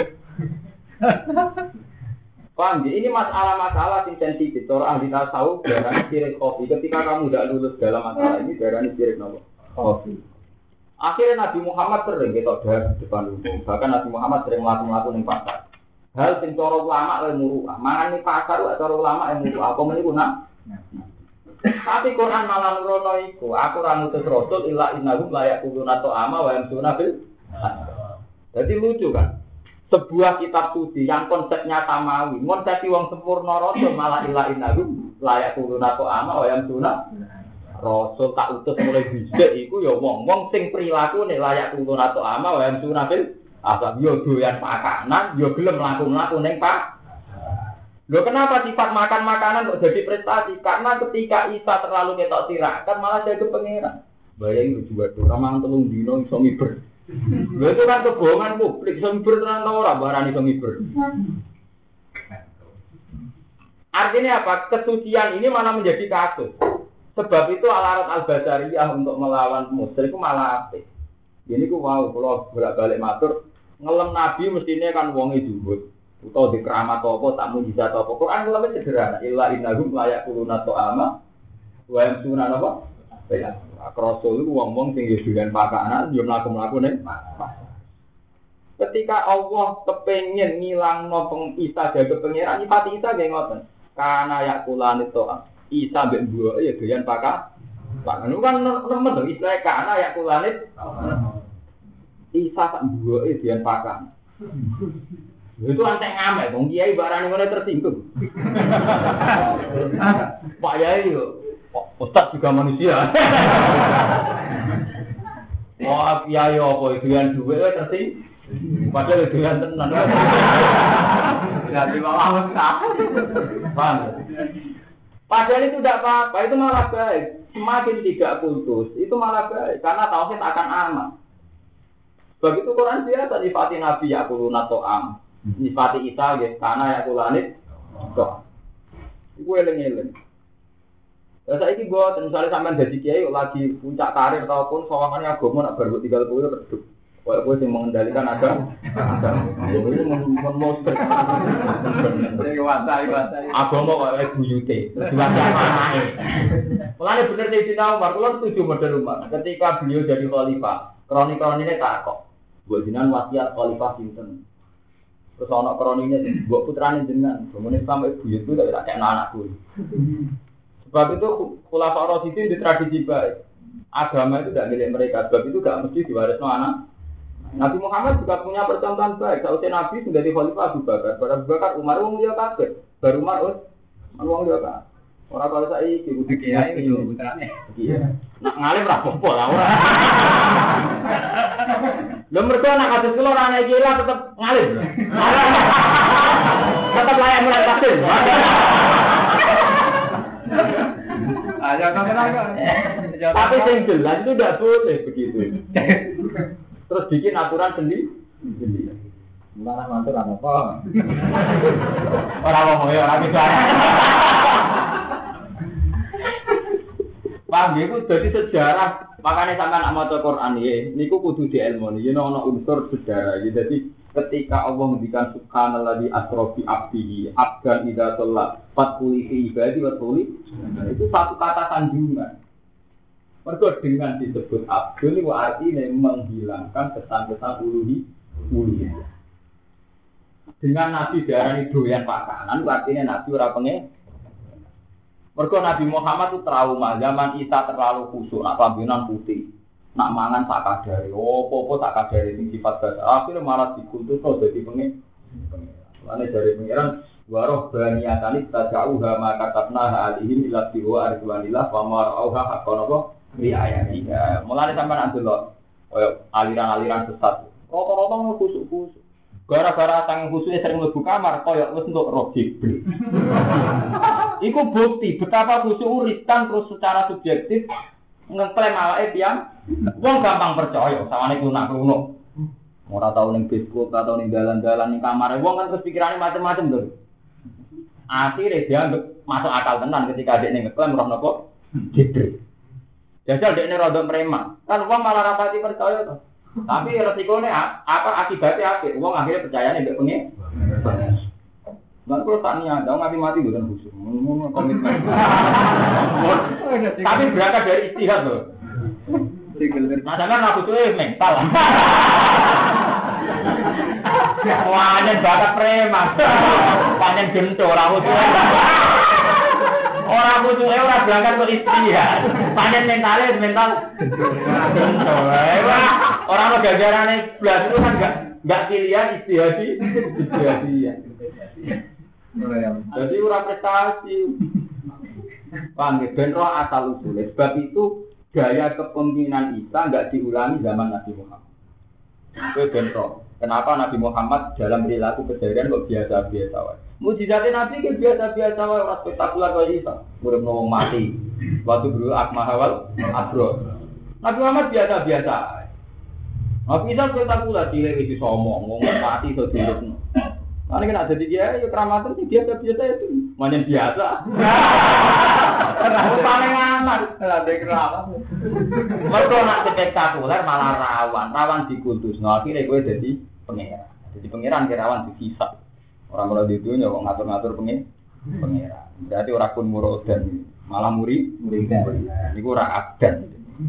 Paham ini masalah-masalah yang sensitif. Orang ahli tasawuf darahnya sirik kopi. Ketika kamu tidak lulus dalam masalah ini, darahnya sirik kopi. Akhirnya Nabi Muhammad sering kita bahas di depan umum. Bahkan Nabi Muhammad sering melakukan yang pasar. Hal yang cara ulama yang muruah. Mangan ini pasar, cara ulama yang muruah. Apa menipu nak? Tapi Quran malah nurono iku. Aku ramutus rasul illa innahum layak kuluna to'ama wa yamsuna bil. Jadi lucu kan? Sebuah kitab suci yang konsepnya samawi. Konsepsi wong sempurna rasul malah illa innahum layak kuluna to'ama wa yamsuna. Rasul tak utus mulai bisik iku ya wong-wong sing prilakune layak tulun atau ama wa yamsuna bil asab yo doyan makanan yo gelem mlaku-mlaku ning Pak. Lho kenapa sifat makan makanan kok jadi prestasi? Karena ketika Isa terlalu ketok tirakan malah jadi pangeran. Bayangin juga ora mang telung dino iso miber. Lho itu kan kebohongan publik iso miber tenan ta ora barani iso miber. Artinya apa? Kesucian ini malah menjadi kasus. Sebab itu al-arad al-basariyah untuk melawan musyrik itu malah apik. Ini ku wow, kalau bolak-balik matur, ngelem nabi mestinya kan wonge dhuwur. Utawa di keramat apa, tak mujizat apa. Quran ngelem sederhana, illa innahum la yaquluna ta'ama wa yamsuna apa? Ya, rasul itu wong-wong sing doyan makanan, yo mlaku-mlaku ning. Ketika Allah kepengin ngilangno Isa dadi pangeran, sifat Isa nggih ngoten. Kana yakulani ta'am. Isa mbek mbuke ya doyan pakan. Pakan kan nemen to istilah kana ya kulanit. Isa sak mbuke doyan pakan. Itu antek ngamek wong kiai barane ngene tersinggung. Pak Yai yo ustaz juga manusia. Wah, kiai apa doyan duwe tersinggung. Padahal doyan tenan. Jadi malah Bang. Padahal itu tidak apa-apa, itu malah baik. Semakin tidak kultus, itu malah baik. Karena tauhid akan aman. Sebab itu Quran biasa nyifati Nabi yakuluna to'am. Nyifati Isa nggih kana yakulanit to'am. Iku eling-eling. Ya saiki gua misalnya sampean dadi kiai lagi puncak karir ataupun sawangane agama nak baru 30 redup. Kayak gue yang mengendalikan agama. Ini memonster. Agama kayak buyute. Mulanya bener Sayyidina Umar, kalau setuju model Umar. Ketika beliau jadi khalifah, kroni-kroninya tak kok. Buat jinan wasiat khalifah sinten. Terus anak kroninya, buat putrane jenengan. Kemudian sampai buyut itu tak kayak anakku. Sebab itu khulafa Rasyidin di tradisi baik. Agama itu tidak milik mereka. Sebab itu gak mesti diwarisno anak. Nabi Muhammad juga punya percontohan baik. Kalau Nabi sudah di khalifah Abu Bakar, Abu Bakar Umar wong dia kafir. Baru Umar wong dia kafir. Ora kalau saiki kudu kiai iki lho putrane. Iya. Nak ngalim ra apa lah ora. Lha mergo anak kados kula ora ana iki lah tetep ngalim. Tetep layak mulai kafir. Aja kan. Tapi sing jelas itu tidak boleh begitu. Terus bikin aturan sendiri. Mana mantul apa? Orang ngomong ya orang bicara. Paham ya, itu jadi sejarah. Makanya sampai nak maca Quran ya, niku kudu diilmoni. Ya ono unsur sejarah. Ya, jadi ketika Allah mendikan subhanalladzi asra bi abdihi abdan idza shalla fatquli fi ibadi wa tuli, itu satu kata sanjungan. Mergo dengan disebut abdul itu artinya menghilangkan kesan-kesan uluhiyah. Dengan Nabi darani doyan pakanan, artinya Nabi ora pengen. Mergo Nabi Muhammad itu trauma zaman Isa terlalu khusyuk, nak pambinan putih, nak mangan tak kadare, opo-opo tak kadare sing sifat dasar. Akhirnya malah dikultusno dadi pengen. Lane dari pengiran waroh baniyatani tajauha maka katna alihim ila tiwa arjuanillah wa marauha haqqan apa riayatiha. Mulane sampean andelok koyo aliran-aliran sesat. Rata-rata khusuk-khusuk. Gara-gara sang khususnya sering mlebu kamar koyo wis entuk roh Jibril. Iku bukti betapa khusyuk riskan terus secara subjektif ngeklaim awake pian. Wong gampang percaya sawane kuno-kuno. Ora tau ning Facebook, ora tau ning dalan-dalan ning kamare wong kan terus pikirane macam-macam lho. Akhire dia masuk akal tenan ketika dekne ngeklaim roh napa Jibril. Jajal dekne rada preman. Kan wong malah rapati percaya to. Tapi resikonya apa akibatnya apa? Wong akhirnya percaya nih mbek pengen. Lan kalau tak niat, dong mati bukan khusus. Komitmen. Tapi berangkat dari istihad loh. Nah, jangan aku tuh mental. Wanyen bakat preman. Wanyen gento ora khusus. Orang khusus ora berangkat ke istihad. Wanyen mental gento. Orang lo gagarane blas itu kan enggak pilihan istihadi. Jadi ora prestasi. Paham ya, ben roh asal usul. Sebab itu gaya kepemimpinan Isa enggak diulangi zaman Nabi Muhammad. Itu ben roh. Kenapa Nabi Muhammad dalam perilaku keseharian kok biasa-biasa wae. Mujizatnya Nabi kan biasa-biasa wae, ora spektakuler kaya Isa. Urip wong mati. Waktu dulu akmahawal abro. Nabi Muhammad biasa-biasa. Nabi Isa spektakuler cilik iki somong, wong mati iso dirupno. Karena kan ada dia, ya keramatan sih biasa-biasa itu, macam biasa. Aku paling aman, ada keramatan. Mereka nak spektakuler malah rawan dikutus. Nah akhirnya gue jadi pengeran. Jadi pengeran kirawan dihisap. Orang-orang di dunia kok ngatur-ngatur pengeran. Berarti orang pun murodan, malah murid. Ini gue orang abdan.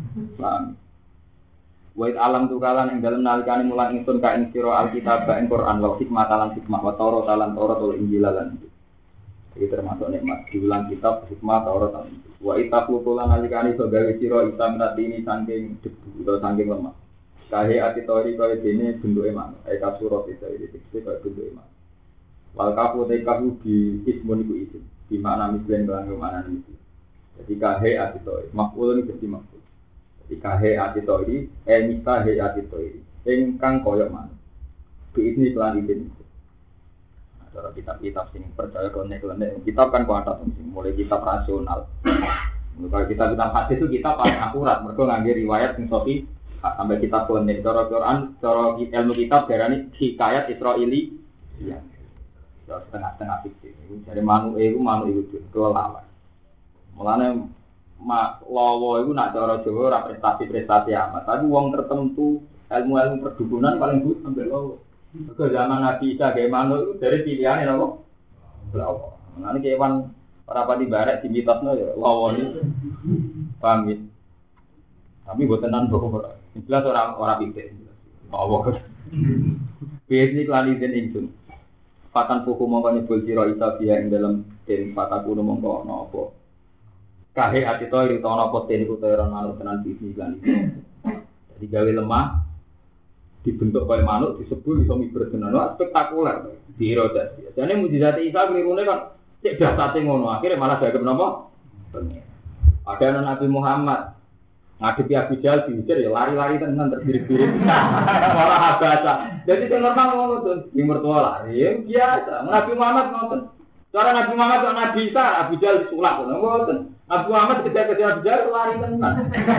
Wait alam tukalan yang dalam nalikane mulang ingsun ka ing sira alkitab ing Quran wa hikmah talan hikmah wa Taurat talan Taurat wal Injil lan. Iki termasuk nikmat diulang kitab hikmah Taurat talan. Wa itaqu tulan nalikane iso gawe sira itam ini saking debu utawa saking lemah. Kahe ati tori kaya dene bentuke manuk. Eka surat itu dikse kaya bentuke manuk. Wal kafu te kafu di ismun iku isim. Di makna mislen lan mana iki. Jadi kahe ati tori maf'ul iki dadi maf'ul. Ikahe atitori, mikahe atitori, engkang koyok mana? Ini pelan ini. Cara kitab-kitab sing percaya konek-konek, kitab kan kuat mulai kitab rasional. Kalau kitab hadis itu kita paling akurat, mereka ngambil riwayat yang sahih sampai kita konek cara Quran, cara ilmu kitab darani hikayat Israili. Iya. Ya setengah-setengah fikih. Dari manuk itu kelelawar. Mulane lawa itu nak cara Jawa ora prestasi-prestasi amat. Tapi wong tertentu ilmu-ilmu perdukunan paling good sampai lawa. Ke zaman Nabi Isa gawe manuk itu dari pilihane napa? Lawa. Mulane kewan ora pati barek di mitosno ya lawa iki. Paham ya? Tapi buat tenan bahwa jelas orang pikir. Allah. Biasanya kelali dan insun. Fatan puku mongko nyebul sira isa dia ing dalam den fataku mongko ana apa. Kahe ati to iri ana apa ten iku ora manuk tenan bisnis lan. Jadi gawe lemah dibentuk kaya manuk disebul iso miber tenan. Wah spektakuler. Dira dadi. Jane mujizat Isa klirune kan cek dasate ngono akhire malah dagem napa? Ada anak Nabi Muhammad ngadepi Abu Jahal diujar ya lari-lari tenan terbirit-birit. Malah habasa. Jadi itu normal ngono tuh, di mertua lari ya biasa. Nabi Muhammad ngoten. Cara Nabi Muhammad kok Nabi Isa Abu Jahal disulak ngoten. Nabi Muhammad kejar-kejar Abu Jahal lari tenan.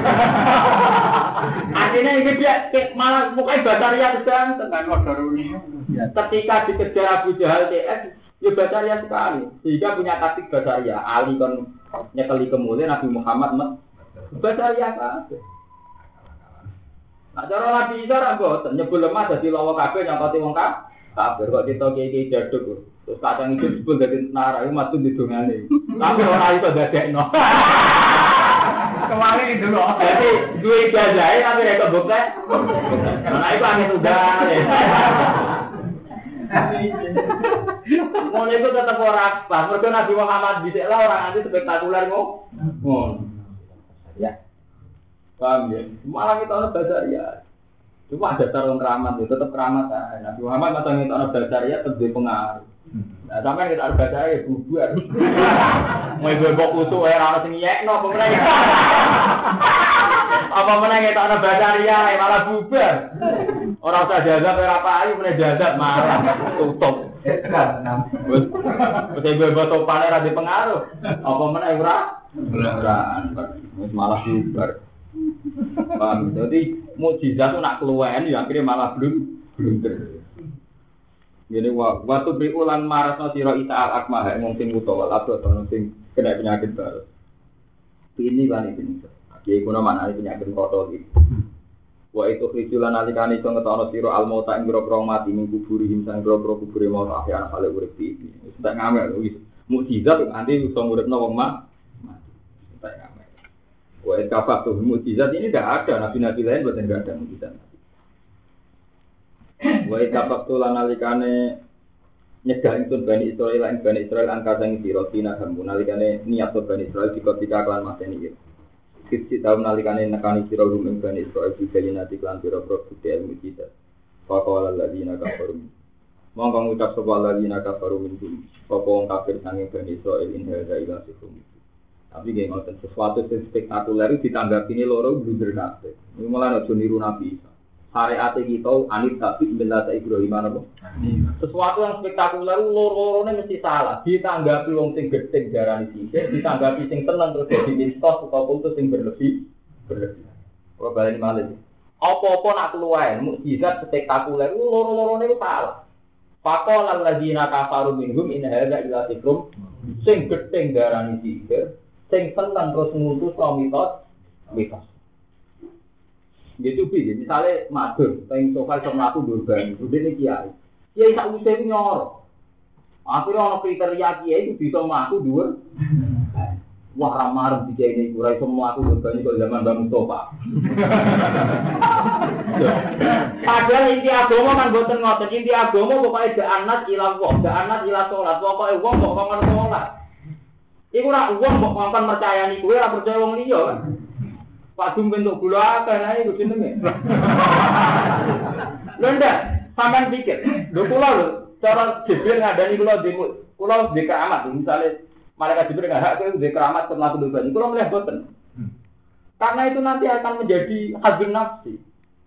Akhirnya ini dia malah mukanya Bataria sedang tenan motorune. Ketika dikejar Abu Jahal TS ya Bataria sekali. Sehingga punya taktik Bataria. Ali kon nyekeli kemudian Nabi Muhammad Bataria kabeh. Nah cara Nabi Isa ra mboten nyebul lemah dadi lawa kabeh nyangkoti wong kabeh kok kita iki jaduk. Terus kadang itu disebut dadi nara iku matu didongane. Tapi ora iso dadekno. Kemarin itu loh. Jadi duwe jajahe tapi rek kebukte. Nah iku angin udah. Mulai itu tetap orang pas. Mereka Nabi Muhammad bisa lah orang nanti spektakuler ngono. Ya, paham ya. Malah kita orang Basaria. Cuma ada tarung keramat itu tetap keramat. Nabi Muhammad macam kita orang Basaria tetap pengaruh. Nah, sampai kita orang Basaria bubar. Mau ibu usul orang sini ya, no pemenang. Apa menang kita orang Basaria malah bubar. Orang usah jazab berapa ayu meneh jazab malah tutup. Wis bebas topane ra dipengaruh. Apa meneh ora? Wis malah bubar. Paham. Jadi mukjizat itu nak keluwen ya akhirnya malah blunder. Ngene waktu biulan marasno sira Isa al-Akmah wong sing utawa abot sing kena penyakit baru. Ini kan iki. Iki kuna manane penyakit kotor iki. Wa itu rijulan alikane iso ngetono sira almauta ing grobro mati ning kuburi himsang grobro kubure mau akhir kale urip iki. Wis tak ngamel wis mukjizat nganti iso nguripno wong mati. Tak ngamel. Wa kabeh tuh mukjizat ini tidak ada nabi-nabi lain boten enggak ada mukjizat. Wa kabeh tuh lan alikane nyegah itu Bani Israil angka sang sira dina kamu nalikane niat Bani Israil dikotika kelan mateni iki. Kiti tahun nalikane nekani sira rumeng Bani Israil dijelinati kelan pira-pira bukti ilmu kita. Faqala alladziina kafaru. Monggo ngucap sapa alladziina kafaru minhum. Sapa wong kafir sange Bani Israil in hadza ila sikum. Tapi nggih ngoten sesuatu sing spektakuler ditanggapine loro blunder kabeh. Iki malah aja niru Nabi Isa. Syariat kita anit tapi benda Ibrahim apa? Sesuatu yang spektakuler loro-lorone mesti salah. Ditanggapi wong sing gedhe darani sithik, ditanggapi sing tenang terus dadi mistos utawa putus sing berlebih. Ora baleni malih. Apa-apa nak keluwen mukjizat spektakuler loro-lorone itu salah. Faqala alladziina kafaru minhum in hadza illa sihrun sing gedhe darani sithik, sing tenang terus ngutus mitos. Gitu bi, misalnya madur, teng sofa sama aku durban, udah nih kiai tak usah nyor. Akhirnya orang kriteria kiai itu bisa maku dua. Wah ramar di kiai ini kurai semua aku durban kalau zaman Bang Mustafa. Padahal inti agama kan boten ngoten, inti agama pokoknya da'anat ila wong, da'anat ila sholat, pokoknya wong kok ngomong sholat. Iku ora wong kok ngomong percayani kowe ora percaya wong liya kan. Pak Dum bentuk gula kan ae kudu jenenge. Lho ndak, sampean pikir, lho kula lho cara Jibril ngadani kula di keramat, misale malaikat Jibril enggak hak kowe di keramat terlaku dosa. Kula melihat boten. Karena itu nanti akan menjadi hazin nafsi.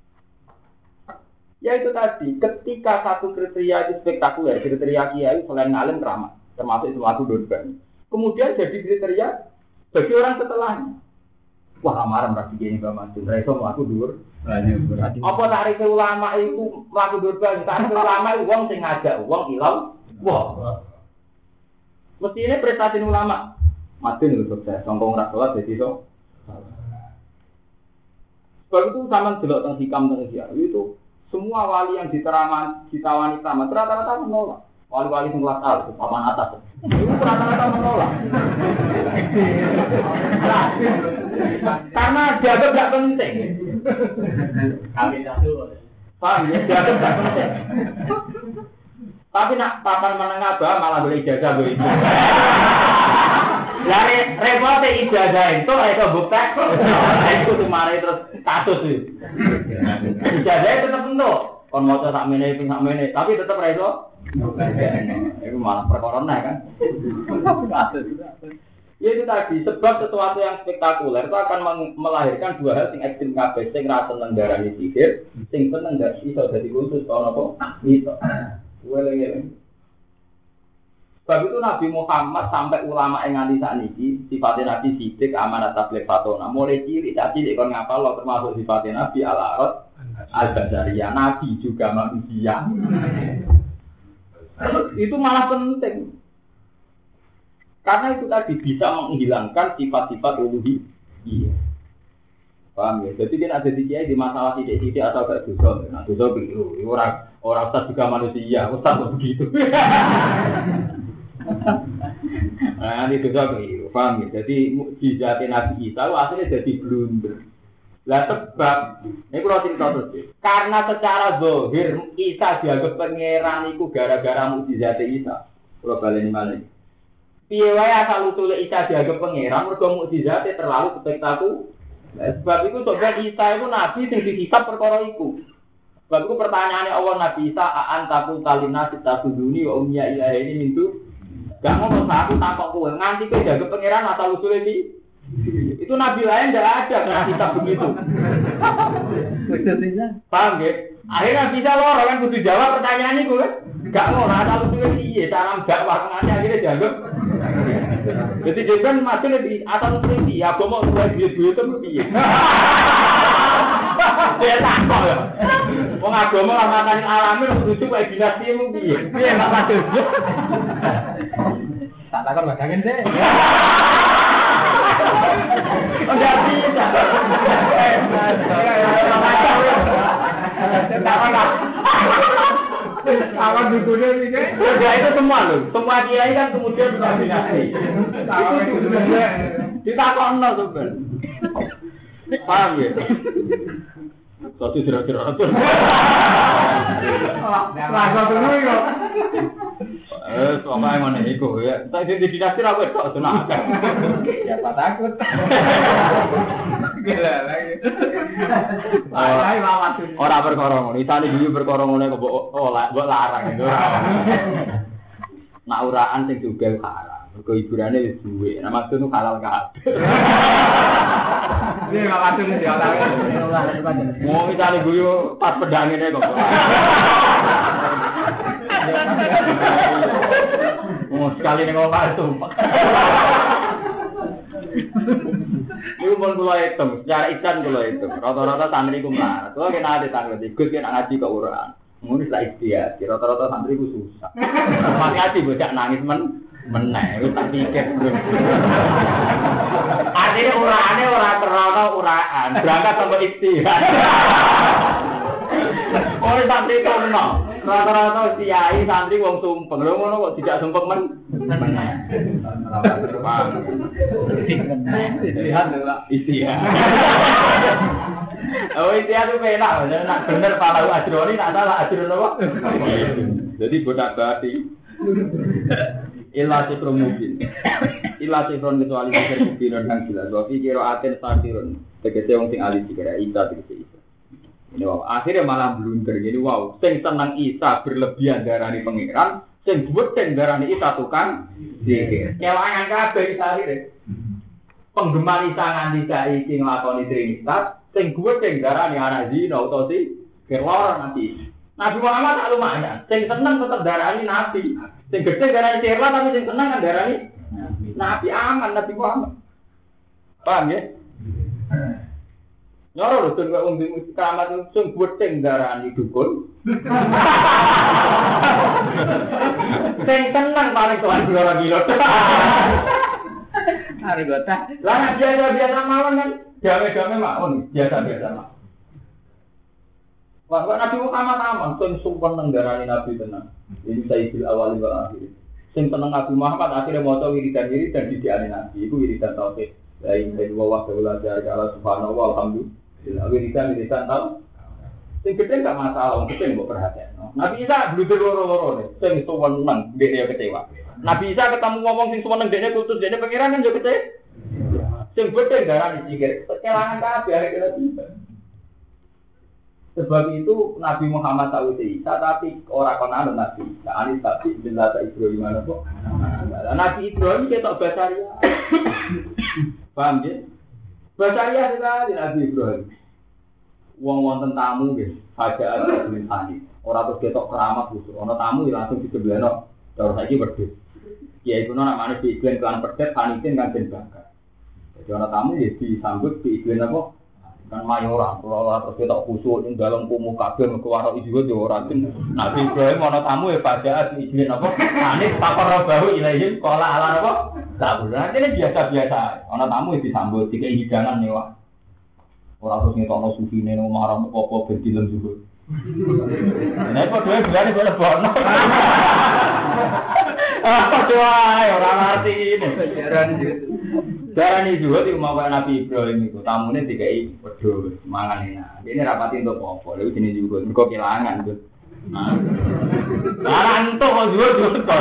Ya itu tadi, ketika satu kriteria itu spektakuler, kriteria kiai selain ngalim keramat, termasuk terlaku dosa. Kemudian jadi kriteria bagi orang setelahnya. Wah, lamaran pasti gini Mbak Madun. Reso aku dhuwur. Apa tarif ulama itu mlaku dhuwur banget. Tarif ulama itu wong sing ngajak wong ilang. Wah. Mestine prestasi ulama. Madun itu sukses. Songkong ra salat dadi iso. Sebab itu sama delok teng hikam teng itu semua wali yang ditawani tamat rata-rata menolak. Wali-wali sing kelas A, papan atas. Itu rata-rata menolak. Karena dianggap tidak penting. Kami satu. Paham ya? Dianggap tidak penting. Tapi nak papan menengah bah malah boleh ijazah boleh itu. Lari repot ijazah itu bukti. Itu cuma terus kasus itu. Ijazah itu tetap penuh. Kon mau sak mene tapi tetap reso. Itu malah perkara kan. Ya itu tadi, sebab sesuatu yang spektakuler itu akan melahirkan dua hal sing ekstrem kabeh, sing ra seneng darani sihir, sing seneng gak iso dadi khusus ana apa? Iso. Weleng-weleng. Sebab itu Nabi Muhammad sampai ulama yang nganti sakniki sifatnya Nabi sidik amanat tabligh fatona. Mulai cilik tak cilik kon ngapal lo termasuk sifatnya Nabi al-Arad al-Basariyah, Nabi juga manusia. Itu malah penting. Karena itu tadi bisa menghilangkan sifat-sifat uluhiyah. Paham ya? Jadi kan ada kiai di masalah titik-titik atau gak dosa. Nah, dosa keliru. Orang ustaz juga manusia, ustaz begitu. Nah, ini dosa keliru. Paham ya? Jadi mukjizat Nabi Isa akhirnya jadi blunder. Lah sebab ini kalau cerita terus. Karena secara zahir Isa dianggap pangeran iku gara-gara mukjizat Isa. Kalau baleni malih. Piye wae asal usule Isa dianggap pangeran mergo mukjizate terlalu spektakuler. Sebab itu sebenarnya Isa itu nabi sing dihisab perkara iku. Sebab itu pertanyaannya Allah Nabi Isa a'antaku talina sitasuduni wa umya ilahi ini mintu. Gak ngomong aku takok kowe nganti kowe dianggap pangeran asal usule iki. Itu nabi lain ndak ada kena hisab begitu. Paham ya? Akhirnya bisa loro kan kudu jawab pertanyaan iku kan. Gak ngono asal usule piye cara dakwah ngene akhirnya dianggap. Jadi dia kan masih lebih atas seperti ya, mau buat duit itu piye? Dia takut ya. Wong agama lah makanin alami lucu kayak dinasti mu piye? Piye mak padha. Tak takon bagangin deh. Udah bisa. Awan dukunnya ini kan? Ya itu semua loh. Semua kiai kan kemudian bisa dinasti. Itu sebenarnya ditakon no sebenarnya. Paham ya? Satu kira-kira apa? Lagu dulu kok. Soalnya mana itu ya? Saya di dinasti apa itu? Tenang. Siapa takut? Gila lagi. Orang berkorong, isane dulu berkorong oleh kok mbok larang itu. Nak uraan sing juga haram. Mergo hiburane wis duwe. Nah maksud nu halal kabeh. Iya, maksud iki halal. Mau isane guyu pas pedang ngene kok. Oh, sekali ning omah sumpah. Iku pun kula hitung, secara ikan kula hitung. Rata-rata santri ku melarat. Kula kena ade tanglet ikut kena ngaji ke uraan. Ngono wis lak ikhtiar. Rata-rata santri ku susah. Pas ngaji bocah nangis meneh, wis tak pikir. Artine uraane ora terana uraan, berangkat sampe ikhtiar. Ora santri kono. Rata-rata kiai santri wong sumpeng. Lho ngono kok tidak sumpeng meneh. Istiha. Oh istiha itu penak, nak bener palau ajroni, nak salah ajron apa? Jadi bodak bati. Illa sifrun mubin. Illa sifrun kecuali sifir mubinun yang jelas. Wa fi qira'atin satirun. Tegese wong sing alih dikira Isa tegese Isa. Ini wow, akhirnya malah blunder. Jadi wow, sing senang Isa berlebihan darani pangeran, sing buwet darani Isa tukang zikir. Kelangan kabeh Isa akhire. Penggemar Isa nganti saiki nglakoni trinitas, sing buwet darani anak zina utawa si kelor nanti. Nabi Muhammad tak lumayan, sing seneng tetep darani nabi. Sing gedhe darani cerlah tapi sing seneng kan darani nabi aman Nabi Muhammad. Paham ya? Nyoro lho dun kok wong keramat sing bething darani dukun. Sing tenang paling tuan ora gila. Are gota. Lah biasa mawon kan gawe-gawe mawon, biasa-biasa mawon. Wah, Nabi Muhammad aman, sing sumpah nang darani Nabi tenan. Ini sayyidul awal wa akhir. Sing tenang Nabi Muhammad akhirnya maca wiridan-wiridan didiane Nabi, iku wiridan tauhid. La ilaha illallah wa la ilaha illallah subhanahu wa alhamdulillah. Wiridan tau. Sing gede gak masalah, wong gede mbok perhatekno. Nabi Isa bluder loro-loro ne, sing suweneng dhekne kecewa. Nabi Isa ketemu ngomong sing suweneng dhekne kultus dhekne pengiran kan yo kecewa. Sing gede darani sikir, kelangan kabeh akhirnya tiba. Sebab itu Nabi Muhammad tahu Isa, tapi orang konon Nabi. Anis tapi bila tak Ibrahim mana kok? Nabi Ibrahim ketok basaria. Paham ya? Basaria sekali Nabi Ibrahim. Wong wonten tamu nggih, hajat tulisane. Ora terus ketok keramat khusus. Ana tamu langsung disembelihno. Cara saiki wedhus. Ya iku namane diiklan kelan pedet panitin kan den bakar. Jadi ana tamu ya disambut diiklan apa? Kan mayoran, kalau terus kita khusus ing dalam kumuh kabeh mergo ora iso yo ora ten. Nabi Ibrahim ana tamu e pada izin apa? Anis pakar bahu ilahi qala ala apa? Tak bener, ini biasa-biasa. Ana tamu disambut dikai hidangan mewah. Ora terus ngetokno sufine nang marang apa ben dilem juga. Nek padha bilane kok lebono. Padha ae ora ngerti ini. Darani juga di rumah Nabi Ibrahim itu tamune dikai wedhus mangan enak. Dene rapati entuk apa? Lha jenenge juga mergo kelangan tuh. Lah entuk kok juga kon.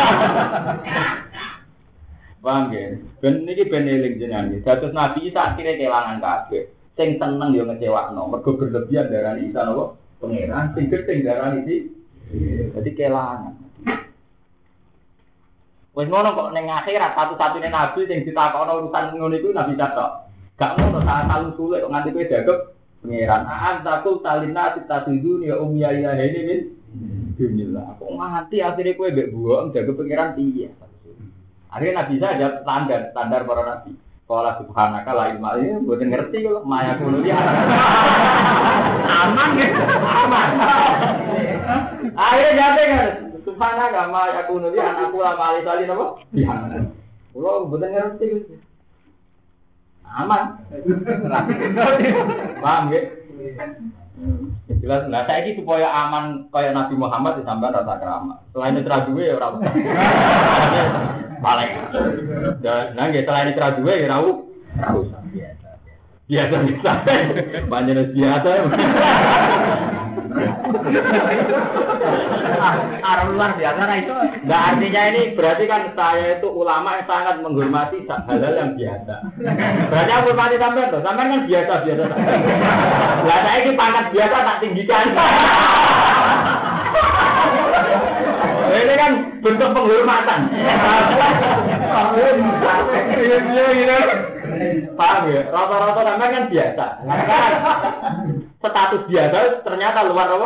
Paham ya? Ben niki ben eling jenengan. Dados Nabi Isa akhire kelangan kabeh. Sing seneng yo ngecewakno, mergo berlebihan darani Isa napa? Pangeran sing gedeng darani iki. Dadi kelangan. Wes ngono kok ning akhirat satu-satunya nabi sing ditakokno urusan ngono iku Nabi Isa tok. Gak ngono saat talu sulit kok nganti kowe dagep pangeran. Takul talina titaduni ya umya ya ini min. Bismillah. Kok nganti akhire kowe mbek buok dagep pangeran piye? Akhirnya Nabi Isa ada standar para nabi. Qala subhanaka la ilma illa mboten ngerti kok maya kuno ya. Aman ya. Aman. Akhirnya jate kan subhanaka ma yakunu li anakku la mali salin apa? Iya. Kulo mboten ngerti gitu. Aman. Paham nggih? Jelas lah saiki supaya aman kaya Nabi Muhammad disampean rasa keramat. Selain itu duwe ya ora usah. Paling. Nah nggih selain itu duwe ya ora usah biasa. Biasa. Panjenengan biasa. Luar biasa nah itu. Nah artinya ini berarti kan saya itu ulama yang sangat menghormati hal-hal yang biasa. Berarti aku hormati sampean loh, sampean kan biasa-biasa. Lah saya ini pangkat biasa tak tinggikan. Ini kan bentuk penghormatan. Paham ya? Rata-rata sampean kan biasa. Status biasa ternyata luar apa?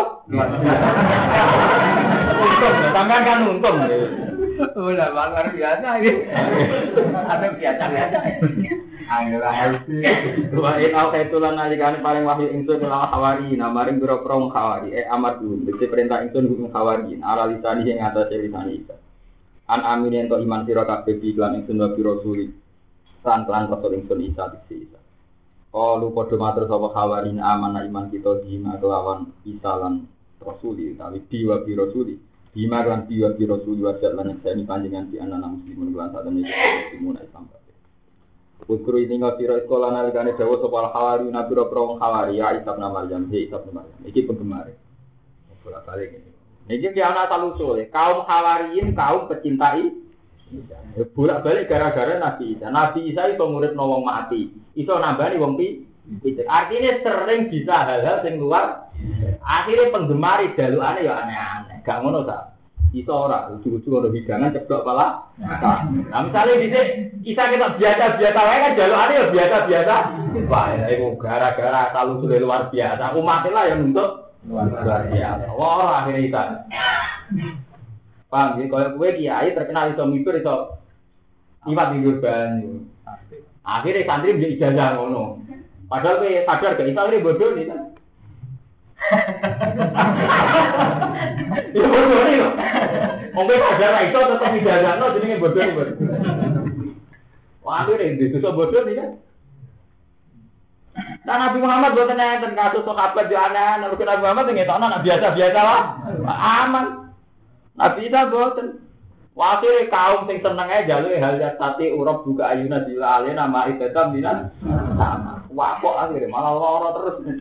Untung, sampean kan untung. Udah luar biasa ini. Ada biasa-biasa. Ayo wa in autaitulan nalikane paling wahyu ingsun lan hawari namaring pira-pira hawari amar dulu dadi perintah ingsun hukum hawari ala lisani ing atase lisani isa an amin ento iman sira kabeh iklan ingsun wa pira suri lan rasul ingsun isa dise lu padha matur sapa hawari amanah iman kita dina kelawan isa lan rasuli tapi diwa pira suri dima lan diwa pira suri wa lan seni panjenengan di anak muslimun lan sadene muslimun Islam. Ukru ini ngapira sekolah nalikane dawa sapa hawari napira prong hawari ya Isa bin Maryam Isa bin Maryam iki penggemar. Ora balik iki. Iki ki ana talusule kaum hawariin kaum pecintai bolak-balik gara-gara Nabi Isa. Nabi Isa iso muridno wong mati, iso nambani wong pitik. Artinya sering bisa hal-hal sing luar. Akhirnya penggemar jalukane ya aneh-aneh. Gak ngono ta? Iso ora ujug-ujug ono hidangan ceblok pala. Nah, misale dhisik kita biasa-biasa wae kan jalukane ya biasa-biasa. Wah, iku gara-gara talusule luar biasa. Umat lah yang untuk luar biasa. Wah, akhirnya kita. Paham ya, kalau gue kiai terkenal iso mikir iso iwat di banyu. Akhirnya santri menjadi ijazah ngono. Padahal kowe sadar gak Isa ini bodoh nih kan. Ya bodoh nih kok. Wong kowe sadar ra iso tetep dijagakno jenenge bodoh nih. Wah, ini susah bodoh nih kan. Nah, Nabi Muhammad buatan enten kasus sahabat yo aneh-aneh, Nabi Muhammad ngetokno nak biasa-biasa lah. Aman. Nabi Isa buatan. Wasire kaum sing seneng ae jaluke hal yastati urab buka ayuna dilale nama ibadah minan sama. Wah kok akhire malah lara terus.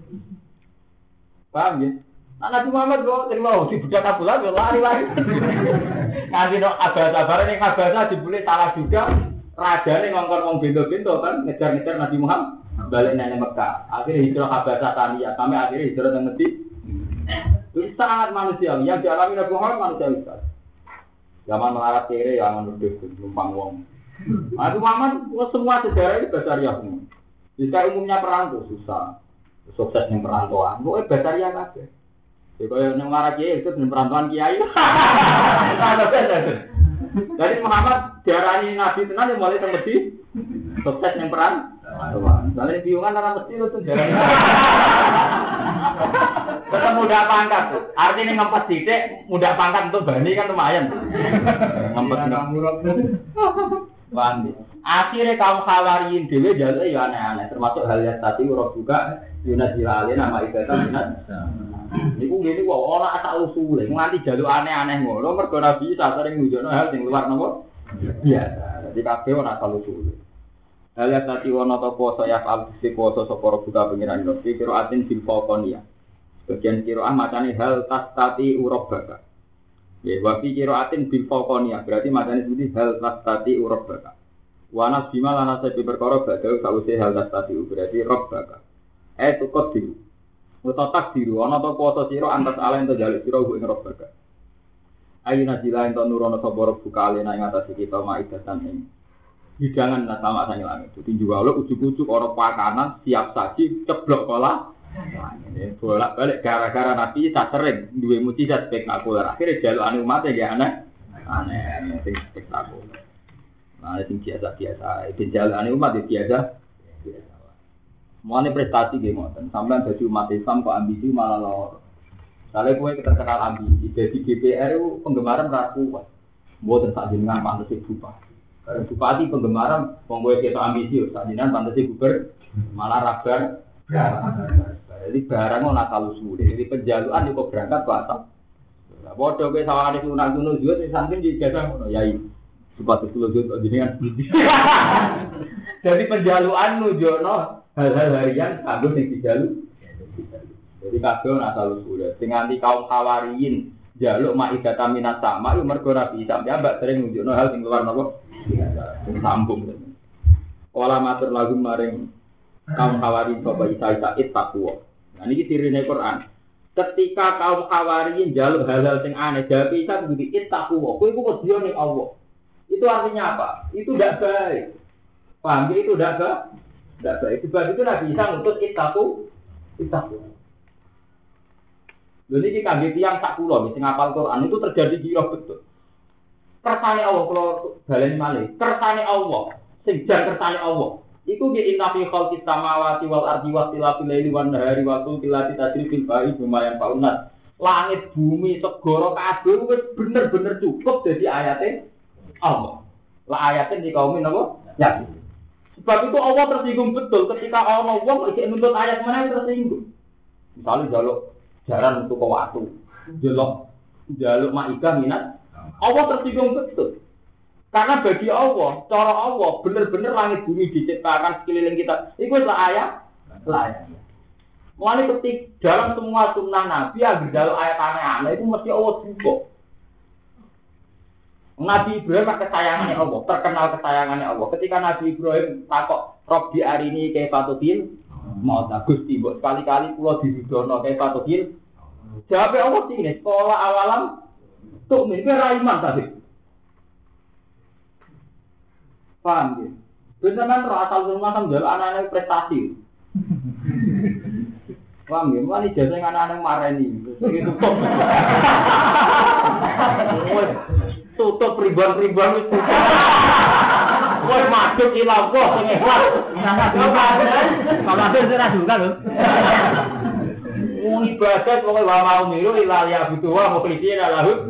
Paham ya? Nabi Muhammad kok terima si budak Abdullah yo lari-lari. Nganti nok abah-abah ning abah dibule salah juga. Rajane ngongkon wong bento-bento kan ngejar-ngejar Nabi Muhammad balik nang Mekah. Akhirnya hijrah Habasah Tania sampai akhirnya hijrah nang Medina. Itu sangat manusiawi yang dialami Nabi Muhammad manusiawi. Zaman melarat kere ya nuduh numpang wong. Nabi Muhammad semua sejarah ini basariah semua. Jika umumnya perang itu susah. Sukses yang perantauan. Pokoknya basariah kabeh. Jadi yang melarat kere itu perantauan kiai. Jadi Muhammad diarani Nabi tenan yang mulai temedi sukses yang perantauan. Soalnya biungan orang mesti itu diarani. Tetap mudah pangkat tuh. Artinya ngempet titik, mudah pangkat untuk bani kan lumayan. Ngempet bani. Akhirnya kaum Khawariyin dhewe jaluk ya aneh-aneh, termasuk hal yang tadi urut juga Yunus Jilali nama ibadah Yunus. Niku ngene kok ora asal usule, nganti jaluk aneh-aneh ngono mergo Nabi Isa sering nunjukno hal sing luar napa biasa. Jadi kabeh ora asal usule. Hal yang tadi ono to poso ya al poso sapa buka pengiran yo kira atin bil faqonia. Bagian kiroah macane hal tastati urabaka. Ya wa fi qiraatin bil faqonia berarti macane seperti hal tastati urabaka. Wa nas bima lana sabi perkara badhe sawise hal tastati berarti rabbaka. Tukot diru. Utatak diru ana to poso sira antas ala ento jaluk sira ing rabbaka. Ayuna jila ento nurono sapa buka alena ing atas kita maidatan ing hidangan sama sange langit. Dadi juwalo ujug-ujug ora pakanan siap saji ceblok pola. Ini bolak-balik gara-gara Nabi tak sering duwe mujizat spektakuler. Akhirnya jalukane umat ya aneh sing spektakuler. Nah, sing biasa-biasa, iki jalukane umat biasa. Mulane prestasi nggih ngoten. Sampeyan dadi umat Islam kok ambisi malah loro. Sale kowe terkenal ambisi, dadi DPR itu penggemaran ra kuat. Mboten sak jenengan pantes bupati. Karena bupati penggemaran wong kowe ketok ambisi sak jenengan pantes gubernur malah rabar. Jadi barang ora kalu suwe. Jadi penjaluan kok berangkat ke atas. Lah padha kowe sawangane sunah-sunah juga sing samping dijajah ngono yai. Sepatu kula yo jenengan. Jadi penjaluan nunjukno hal-hal harian kanggo sing dijaluk. Jadi kabeh ora kalu suwe. Sing nganti kaum Khawariyin jaluk maidata minas sama yo mergo Nabi sampe mbak sering nunjukno hal sing luar napa. Sing sambung. Ola matur lagu maring kaum Khawariyin sapa Isa takwa. Nah ini cirine Quran. Ketika kaum Khawariyin jaluk hal-hal sing aneh, jawab Isa begitu takwa. Kowe iku wedi ning Allah. Itu artinya apa? Itu tidak baik. Paham ya? Itu tidak baik. Sebab itu Nabi Isa ngutus takwa. Lha iki kangge tiyang sak kula sing ngapal Quran itu terjadi gila betul. Kersane Allah kula baleni malih. Kersane Allah, sing jan kersane Allah. Iku di inna fi khalqis samawati wal ardi wa ikhtilafil laili wan nahari wa kulli tajrifil ba'i lumayan faunat. Langit bumi segara kabeh wis bener-bener cukup dadi ayate Allah. Lah ayate di kaum napa? Ya. Sebab itu Allah tersinggung betul ketika ana wong iki nuntut ayat mana tersinggung. Misalnya jaluk jaran untuk waktu, jaluk maidah minat. Allah tersinggung betul. Karena bagi Allah, cara Allah, benar-benar langit bumi diciptakan sekeliling kita. Itu adalah ayat. Mulai ketik dalam semua sunnah Nabi, agar dalam ayat aneh-aneh itu mesti Allah juga. Nabi Ibrahim kesayangannya Allah, terkenal kesayangannya Allah. Ketika Nabi Ibrahim takok, Robbi arini kaifatudil, mau bagus tiba sekali-kali pulau dihidono kaifatudil. Jawabnya Allah ini, sekolah awalam, tuh ini raiman tadi. Paham ya? Beneran asal rumah sama jalan anak-anak prestasi. Paham ya? Mulai jasa yang anak-anak marah ini. Tutup ribuan-ribuan itu. Wes madhep ila Allah sing ikhlas. Kalau ada ora juga lho. Wong ibadah pokoke wa mau miru ila ya butuh wa mukhlishina lahu.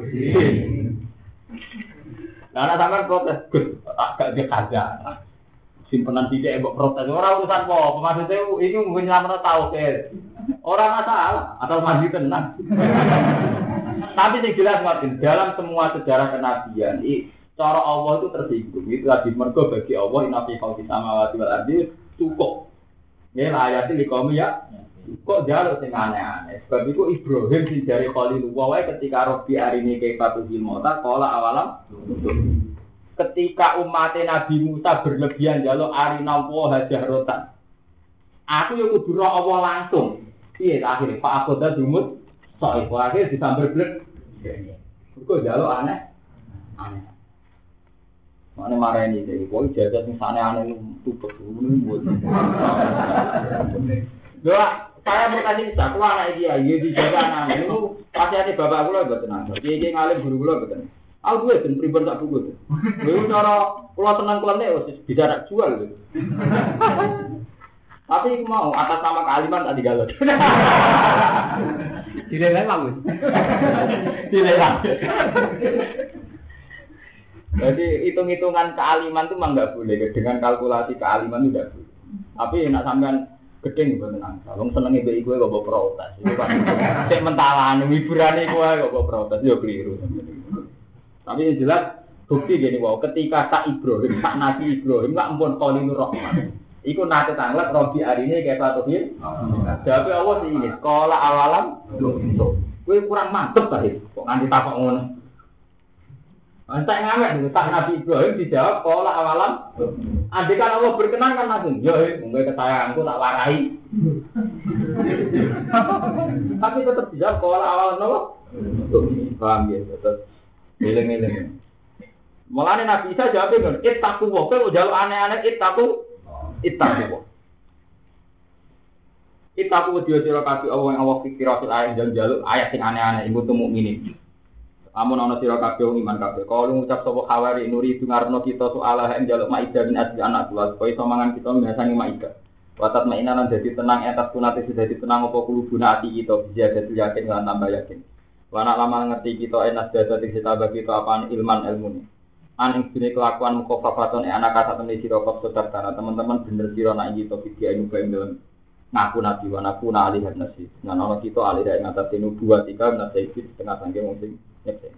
Lah ana sampean protes, Gus, gak dikada. Simpenan sithik mbok protes ora urusan apa, maksudnya iki mungkin nyelametno tauhid. Ora masalah, asal mandi tenang. Tapi yang jelas Martin, dalam semua sejarah kenabian, cara Allah itu tersinggung. Itu tadi mergo bagi Allah inafi khalqis samawati wal ardi cukup. Nggih ayat iki kaum ya. Kok jaluk sing aneh-aneh. Sebab itu Ibrahim sing jare Khalilullah wae ketika Rabbi arini kaifatu mota qala awalam. Ketika umat Nabi Musa berlebihan jaluk arina wa jahratan. Aku yo kudu ro Allah langsung. Piye akhire Pak Akoda dumut sok iku akhir disambar blek. Kok jaluk aneh. Aneh. Mane mareni iki kok jagat sing aneh-aneh tutup ngono. Doa saya berkasih bisa, aku anak dia, dijaga anak itu pasti ada bapak kula mboten ana. Piye ngalim guru kula mboten. Aku duwe ben pripun tak buku. Lha cara kula tenang klene wis bisa tak jual lho. Tapi mau atas nama kealiman tak digalot. Dilelang Mas. Dilelang. Jadi hitung-hitungan kealiman itu memang nggak boleh. Dengan kalkulasi kealiman itu tidak boleh. Tapi nak sampean gedeng mboten angsa. Wong senenge mbek iku kok mbok protes. Iku kan sik mentalan hiburane iku kok mbok protes yo keliru. Tapi yang jelas bukti gini wae ketika tak Ibrahim, tak Nabi Ibrahim lak ampun Khalilur Rahman. Iku nate tanglet Robi arine kayak patuhin. Tapi Allah sing ini sekolah awalam. Kowe kurang mantep ta kok nganti takok ngono. Antek ngamek tak Nabi Ibrahim dijawab sekolah awalam. Andikan Allah berkenan kan langsung, yo mungkin ketayanganku tak warai. Tapi tetap dijawab sekolah awalam nopo? Paham ya, tetap eleng-eleng. Mulane Nabi Isa jawab ngono, ittaqu wa kok jaluk aneh-aneh ittaqu. Ittaqu sira kabeh Allah yang Allah fikiratul ayat jaluk ayat sing aneh-aneh iku tu mukminin. Amun ana sira kabeh wong iman kabeh. Kalau ngucap sapa khawari nuri dungarno kita soal ing jaluk maidah bin asli anak kula supaya iso mangan kita biasane maidah. Watat mainan lan dadi tenang atas kunate dadi tenang apa kulubuna ati kita bisa dadi yakin lan tambah yakin. Wana lama ngerti kita enas dadi kita bagi kita apaan ilman ilmune. Aning dene kelakuan mukofafaton anak kata temne sira kok sedar karena teman-teman bener sira nak iki to video ing dalam ngaku nabi wa naku na alih nasi. Nah ana kita alih ing atas nubuwah 3 nasi setengah sangke wong sing nyek.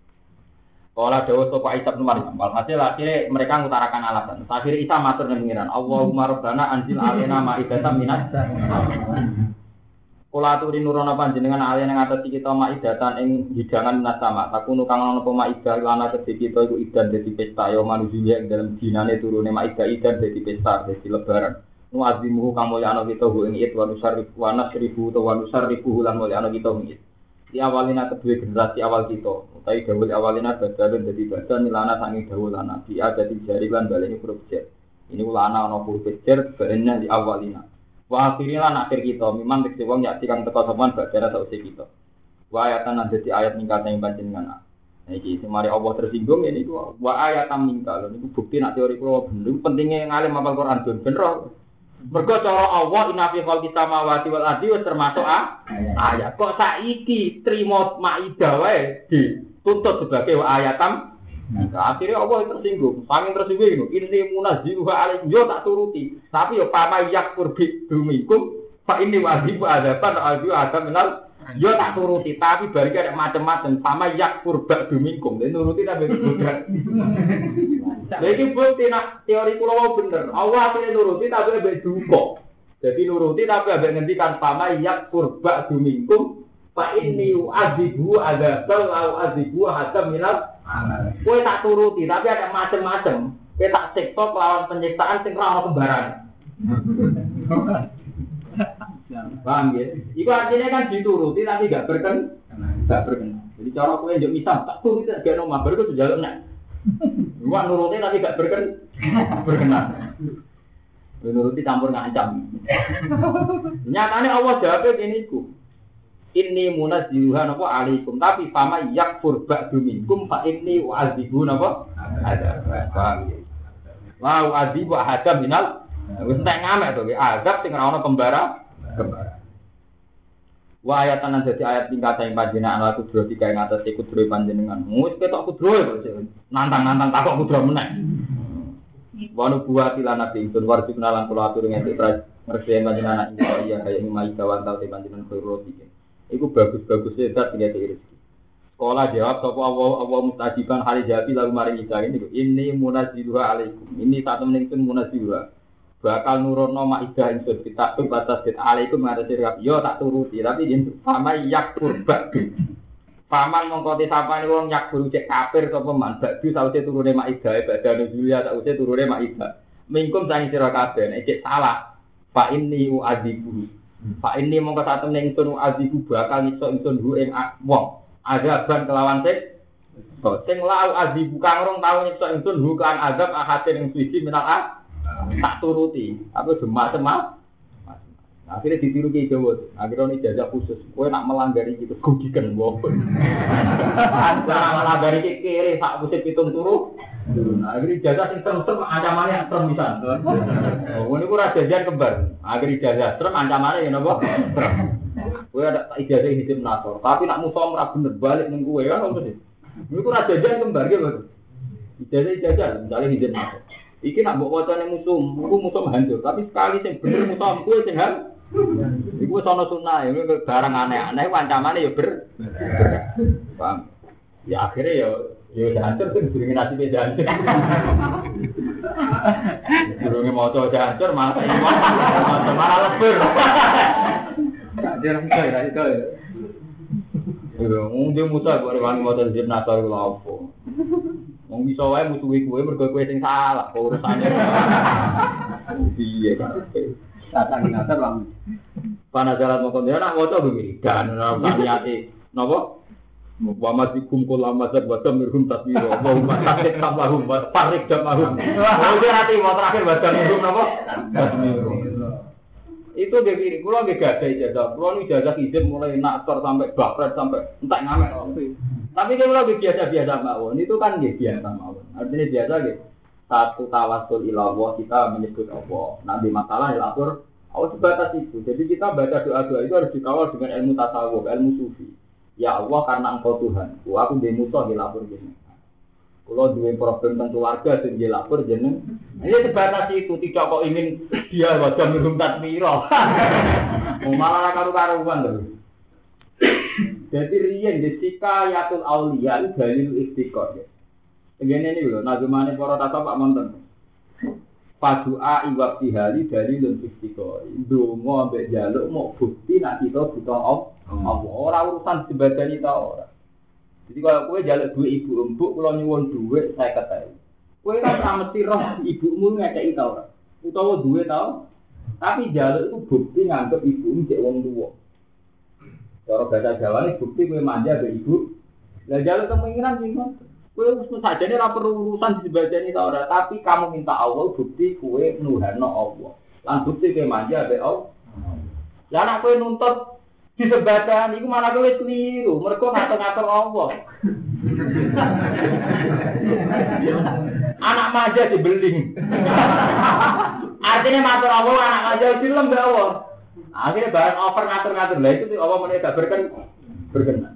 Kala dawuh sapa Isa bin Maryam, walhasil akhirnya mereka ngutarakan alasan. Akhirnya Isa matur nang pengiran, Allahumma rabbana anzil alaina ma'idatan minas sama. Kula aturi nurono panjenengan alaina ing atas kita ma'idatan ing hidangan minas sama. Takunu kang ana apa ma'idah lana kedhe kita iku idan dadi pesta ya manusia ing dalem dinane turune ma'idah idan dadi pesta dadi lebaran. Nu azimuhu kang mulya ana kita ing id wa nusarrifu wa nasrifu wa nusarrifu lan mulya ana kita ing id. Di awalina kedua generasi awal kita, utai dawul awalina badalun jadi badan milana sangi dawul anak dia jadi jarilan baleni huruf jer. Ini ulana ana huruf jer bahannya di awalina. Wa akhirina akhir kita memang tekse wong yakti kang teka sampean badara sausé kita. Wa ayatan lan dadi ayat ningkat ing panjenengan. Nah iki semari Allah tersinggung ini ku wa ayatan ningkat. Niku bukti nek teori kula bener pentingnya ngalim hafal Quran bener. Mergo cara Allah inna fi khalqis samawati wal ardi wis termasuk ayat. Kok saiki trimo maidah wae dituntut sebagai ayatam. Nah, akhirnya Allah tersinggung. Saking tersinggung ini munazziluha alaikum yo tak turuti. Tapi yo pama yakfur bi dumikum fa inni wajibu adaban ada minal yo tak turuti. Tapi bari ada macam-macam pama yakfur ba dumikum. Dene nuruti tapi bukan. Lagi bukti nak teori kula bener. Allah akhirnya nuruti tapi ambek duka. Jadi nuruti tapi ambek ngendikan pama yak kurba dumingkum fa inni u'adzibu adzabal au adzibu hatta minal. Kowe tak turuti tapi ada macam-macam. Kowe tak siksa lawan penyiksaan sing ora ono kembaran. Paham ya? Iku artinya kan dituruti tapi enggak berkenan. Jadi cara kowe njuk misah tak turuti gak ono mabar iku sejaluk nek gua nuruti tapi gak berkenan. Nuruti campur ngancam. Nyatane Allah jawabnya gini ku. Inni munazziluha napa alaikum tapi fama yakfur ba'du minkum fa inni u'adzibu napa ada. Paham ya. Lau adi wa hadam minal. Wis entek ngamek to, azab sing ora ono kembara. Wa ayatan dadi ayat tingkat sing panjenengan ala kudro tiga ing atas kudro panjenengan. Wis ketok kudro nantang-nantang takok kudro meneh. Wa nubuwati lan nabi itu warji kenalan kula atur ngene ngerti panjenengan iya kaya ngimai kawan tau panjenengan karo iki. Iku bagus-bagus zat tinggal rezeki. Sekolah jawab sapa Allah mustajiban hari jati lalu maring Isa ini munaziluha alaikum. Ini satu meningsun munaziluha. Bakal nurono maidah ingsun kita batas bid alaikum ngatasi rap. Yo tak turuti tapi yen sama yakfur ba'du. Paman mongko sapane wong yakfur cek kafir sapa man ba'du sawise turune maidah badane Julia sawise turune maidah. Mingkum sang sira kabeh nek cek salah. Fa inni u'adzibu. Fa inni mongko satu meningsun u'adzibu bakal nyiksa ingsun hu ing wong. Azaban kelawan sing lau azibu kang rong tau nyiksa ingsun hu kan azab ahatin ing suci minal tak turuti aku semak-semak akhirnya ditiru ke Jawa akhirnya ini jajak khusus kowe nak melanggar iki terus gudiken wong antara melanggar iki kiri sak musim pitung turu akhirnya jajak sing serem ancamane yang serem pisan ngono iku ora jajan kembar akhirnya jajak serem ancamane ya napa serem kowe ada ijazah hidup nasor tapi nak musuh ora bener balik ning kowe kan ngono sih niku ora jajan kembar ge lho ijazah misalnya hidup nasor iki nak mbok wacane musuh hancur tapi sekali sing bener musuh kowe sing hal iku wis ana sunah ya barang aneh-aneh ancamane ya paham ya akhirnya ya hancur sing durunge nasibe hancur durunge maca hancur malah lebur dia orang itu ya. Dia musuh gue rewangi motor jeep nasar gue lapo. Wong bisa wae musuhi kowe mergo kowe sing salah urusane. Piye kan. Datang nasar bang. Panajaran mongkon dia nak maca begini. Dan ora niate napa? Wa matikum kula mazab wa tamirhum tasbiro. Wa hum tasbih tamahum wa farik damahum. Oh dia nanti mau terakhir baca mirhum napa? Tasbiro. Itu dia kiri, kalau nggak ada ijazah, kalau ini ijazah izin mulai naktor sampai bakret sampai entak ngamek. Tapi kalau biasa-biasa mawon, itu kan nggak biasa mawon. Artinya biasa gitu. Satu tawasul ilallah kita menyebut Allah. Nanti masalah ilatur, Allah sebatas itu. Jadi kita baca doa-doa itu harus dikawal dengan ilmu tasawuf, ilmu sufi. Ya Allah karena Engkau Tuhan, aku demusoh ilatur gini. Kalau dua problem tentang keluarga sing lapor jeneng. Ini sebatas itu tidak kok ingin dia wajah minum tasmiro. Malah karu-karuan lho. Jadi riyen jika yatul auliya dalil istiqor. Ngene iki lho, nazmane para tasawuf monten. Padua iwab tihali dalilun istiqor. Ndonga mbek njaluk mok bukti nek kita buta Allah. Ora urusan dibadani ta ora. Jadi kalau kowe njaluk duit ibu empuk, kalau nyuwun duit saya ketahui. Kowe kan ora mesti roh ibumu ngekeki ta ora. Utawa duit ta. Tapi njaluk itu bukti nganggep ibumu cek wong tuwa. Cara bahasa Jawane bukti kowe manja mbek ibu. Lah njaluk kemungkinan sing kowe wis sajane ora perlu urusan dibajani ta ora, tapi kamu minta Allah bukti kowe nuhano Allah. Lan bukti kowe manja mbek Allah. Lah nek kowe nuntut disebatan iku malah kowe keliru, mergo ngatur-ngatur Allah. Anak manja dibeling. Artinya matur Allah anak manja film mbek Allah. Akhirnya barang over ngatur-ngatur lah itu Allah meneh gak berkenan.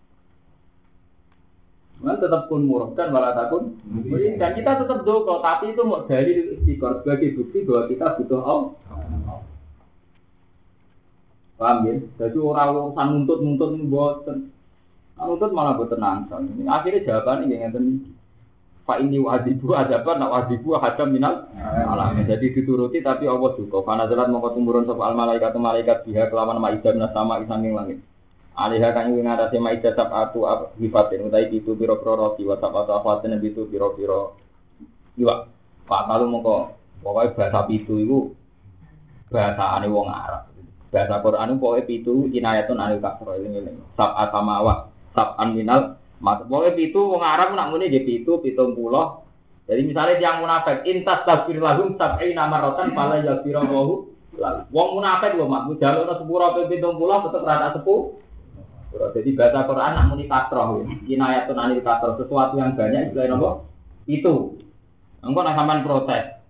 Man tetap pun murahkan wala takun. Dan kita tetap doa, tapi itu mau dalil istiqor sebagai bukti bahwa kita butuh Allah. Paham ya? Jadi orang-orang nuntut ini boten. Nuntut malah boten nangsang. Akhirnya jawabannya yang ngeten. Fa ini wajibu adaban, nak wajibu hadam minal alam. Jadi dituruti tapi Allah juga. Karena jalan mongko tumurun sapa al malaikat biha kelawan maidah sama isanging langit. Alihah kang ing ngatasi maidah sabatu hifatin utai itu pira-pira roti wa sabatu afatin itu pira-pira iwak. Pak kalau mongko pokoke bahasa pitu iku bahasaane wong Arab. Bahasa Quran pokoke pitu inayatun anil kasra eling-eling. Sab'at samawat, sab'an minal mat. Pokoke pitu wong Arab nak muni nggih pitu 70. Jadi misalnya yang munafik intas tafsir lahum sab'ina marratan fala yaghfiru lahu. Wong munafik lho mak jalukna sepuro ping 70 tetep rata 10. Jadi bahasa Quran nak muni kasra inayatun anil kasra sesuatu yang banyak istilah napa? Itu. Engko nek sampean protes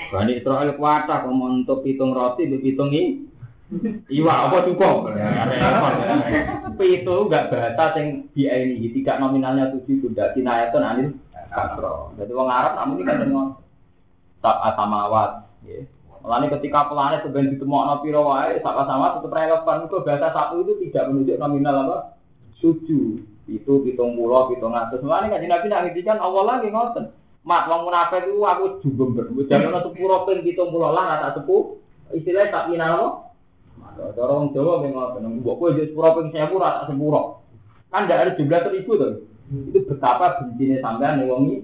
Bani Israil kuatah kok untuk pitung roti, pitung iwa apa cukup? Itu enggak bahasa yang ini, tidak nominalnya 7 itu tidak kinayatun anil kasro. Jadi orang Arab namun ini kan dengan sama awat. Mulanya ketika planet sebenarnya ditemokno pira wae sama-sama tetap relevan itu bahasa satu itu tidak menunjuk nominal apa? 7. Itu 70, 700. Mulanya kan Nabi nak ngendikan Allah lagi ngoten. Mak wong munafik itu aku jumber. Jangan ono 10 ping 70 lah tak sepuh. Istilahnya tak ina apa? Cara wong Jawa nggih ngoten. Mbok kowe yo 10 ping 1000 ra tak sepuro. Kan ndak ada jumlah 1000 to. Itu betapa bencine sampean ning wong iki.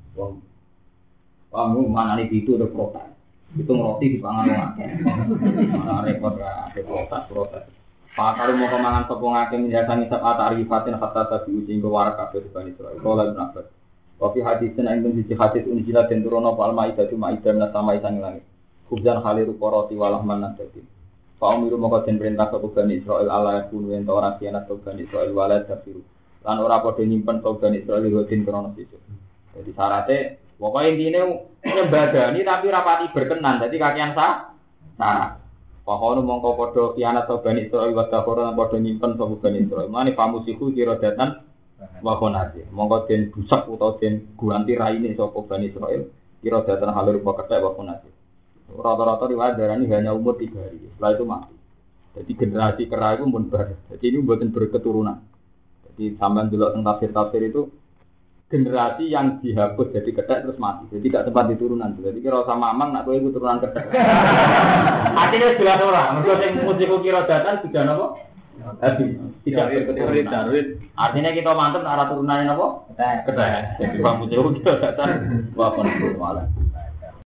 Kamu manane itu udah protes. Itu roti dipangan wong akeh. Malah repot ra protes. Pak kalau mau kemangan sopong akeh minjasan isap atarifatin hatta tabi uji warak kabeh Bani Israil. Qala Ibnu Abbas. Wa fi haditsin indun sisi hadits unjila den turono fal maidatu maidah min samai sang langit. Kubjan khaliru qarati walah manadati. Fa umiru moko den perintah sapa Bani Israil ala kun wen ora sianat Bani Israil wala tafiru. Lan ora padha nyimpen Bani Israil rutin krono sisi. Jadi syaratnya pokoknya intinya nyembadani tapi rapati berkenan. Jadi kakian sah. Pahono mongko padha kianat Bani Israil wa dakhoran padha nyimpen sapa Bani Israil. Mane pamusiku kira datan wa khonati. Mongko den busak utawa den guanti raine sapa Bani Israil kira datan halur kethek wa khonati. Rata-rata riwayat darani hanya umur 3 hari. Setelah itu mati. Jadi generasi kera itu pun bar. Jadi ini buatan berketurunan. Jadi sampean delok teng tafsir-tafsir itu generasi yang dihapus jadi kethek terus mati. Jadi tidak sempat diturunan. Jadi kira sama mamang nak kowe iku turunan kethek. Artinya jelas ora. Mergo sing musiku kira datan sudah napa? Habis. Tidak berketurunan. Artinya kita mantep arah turunane napa? Kethek. Jadi bang musiku kira datan wa kon malah.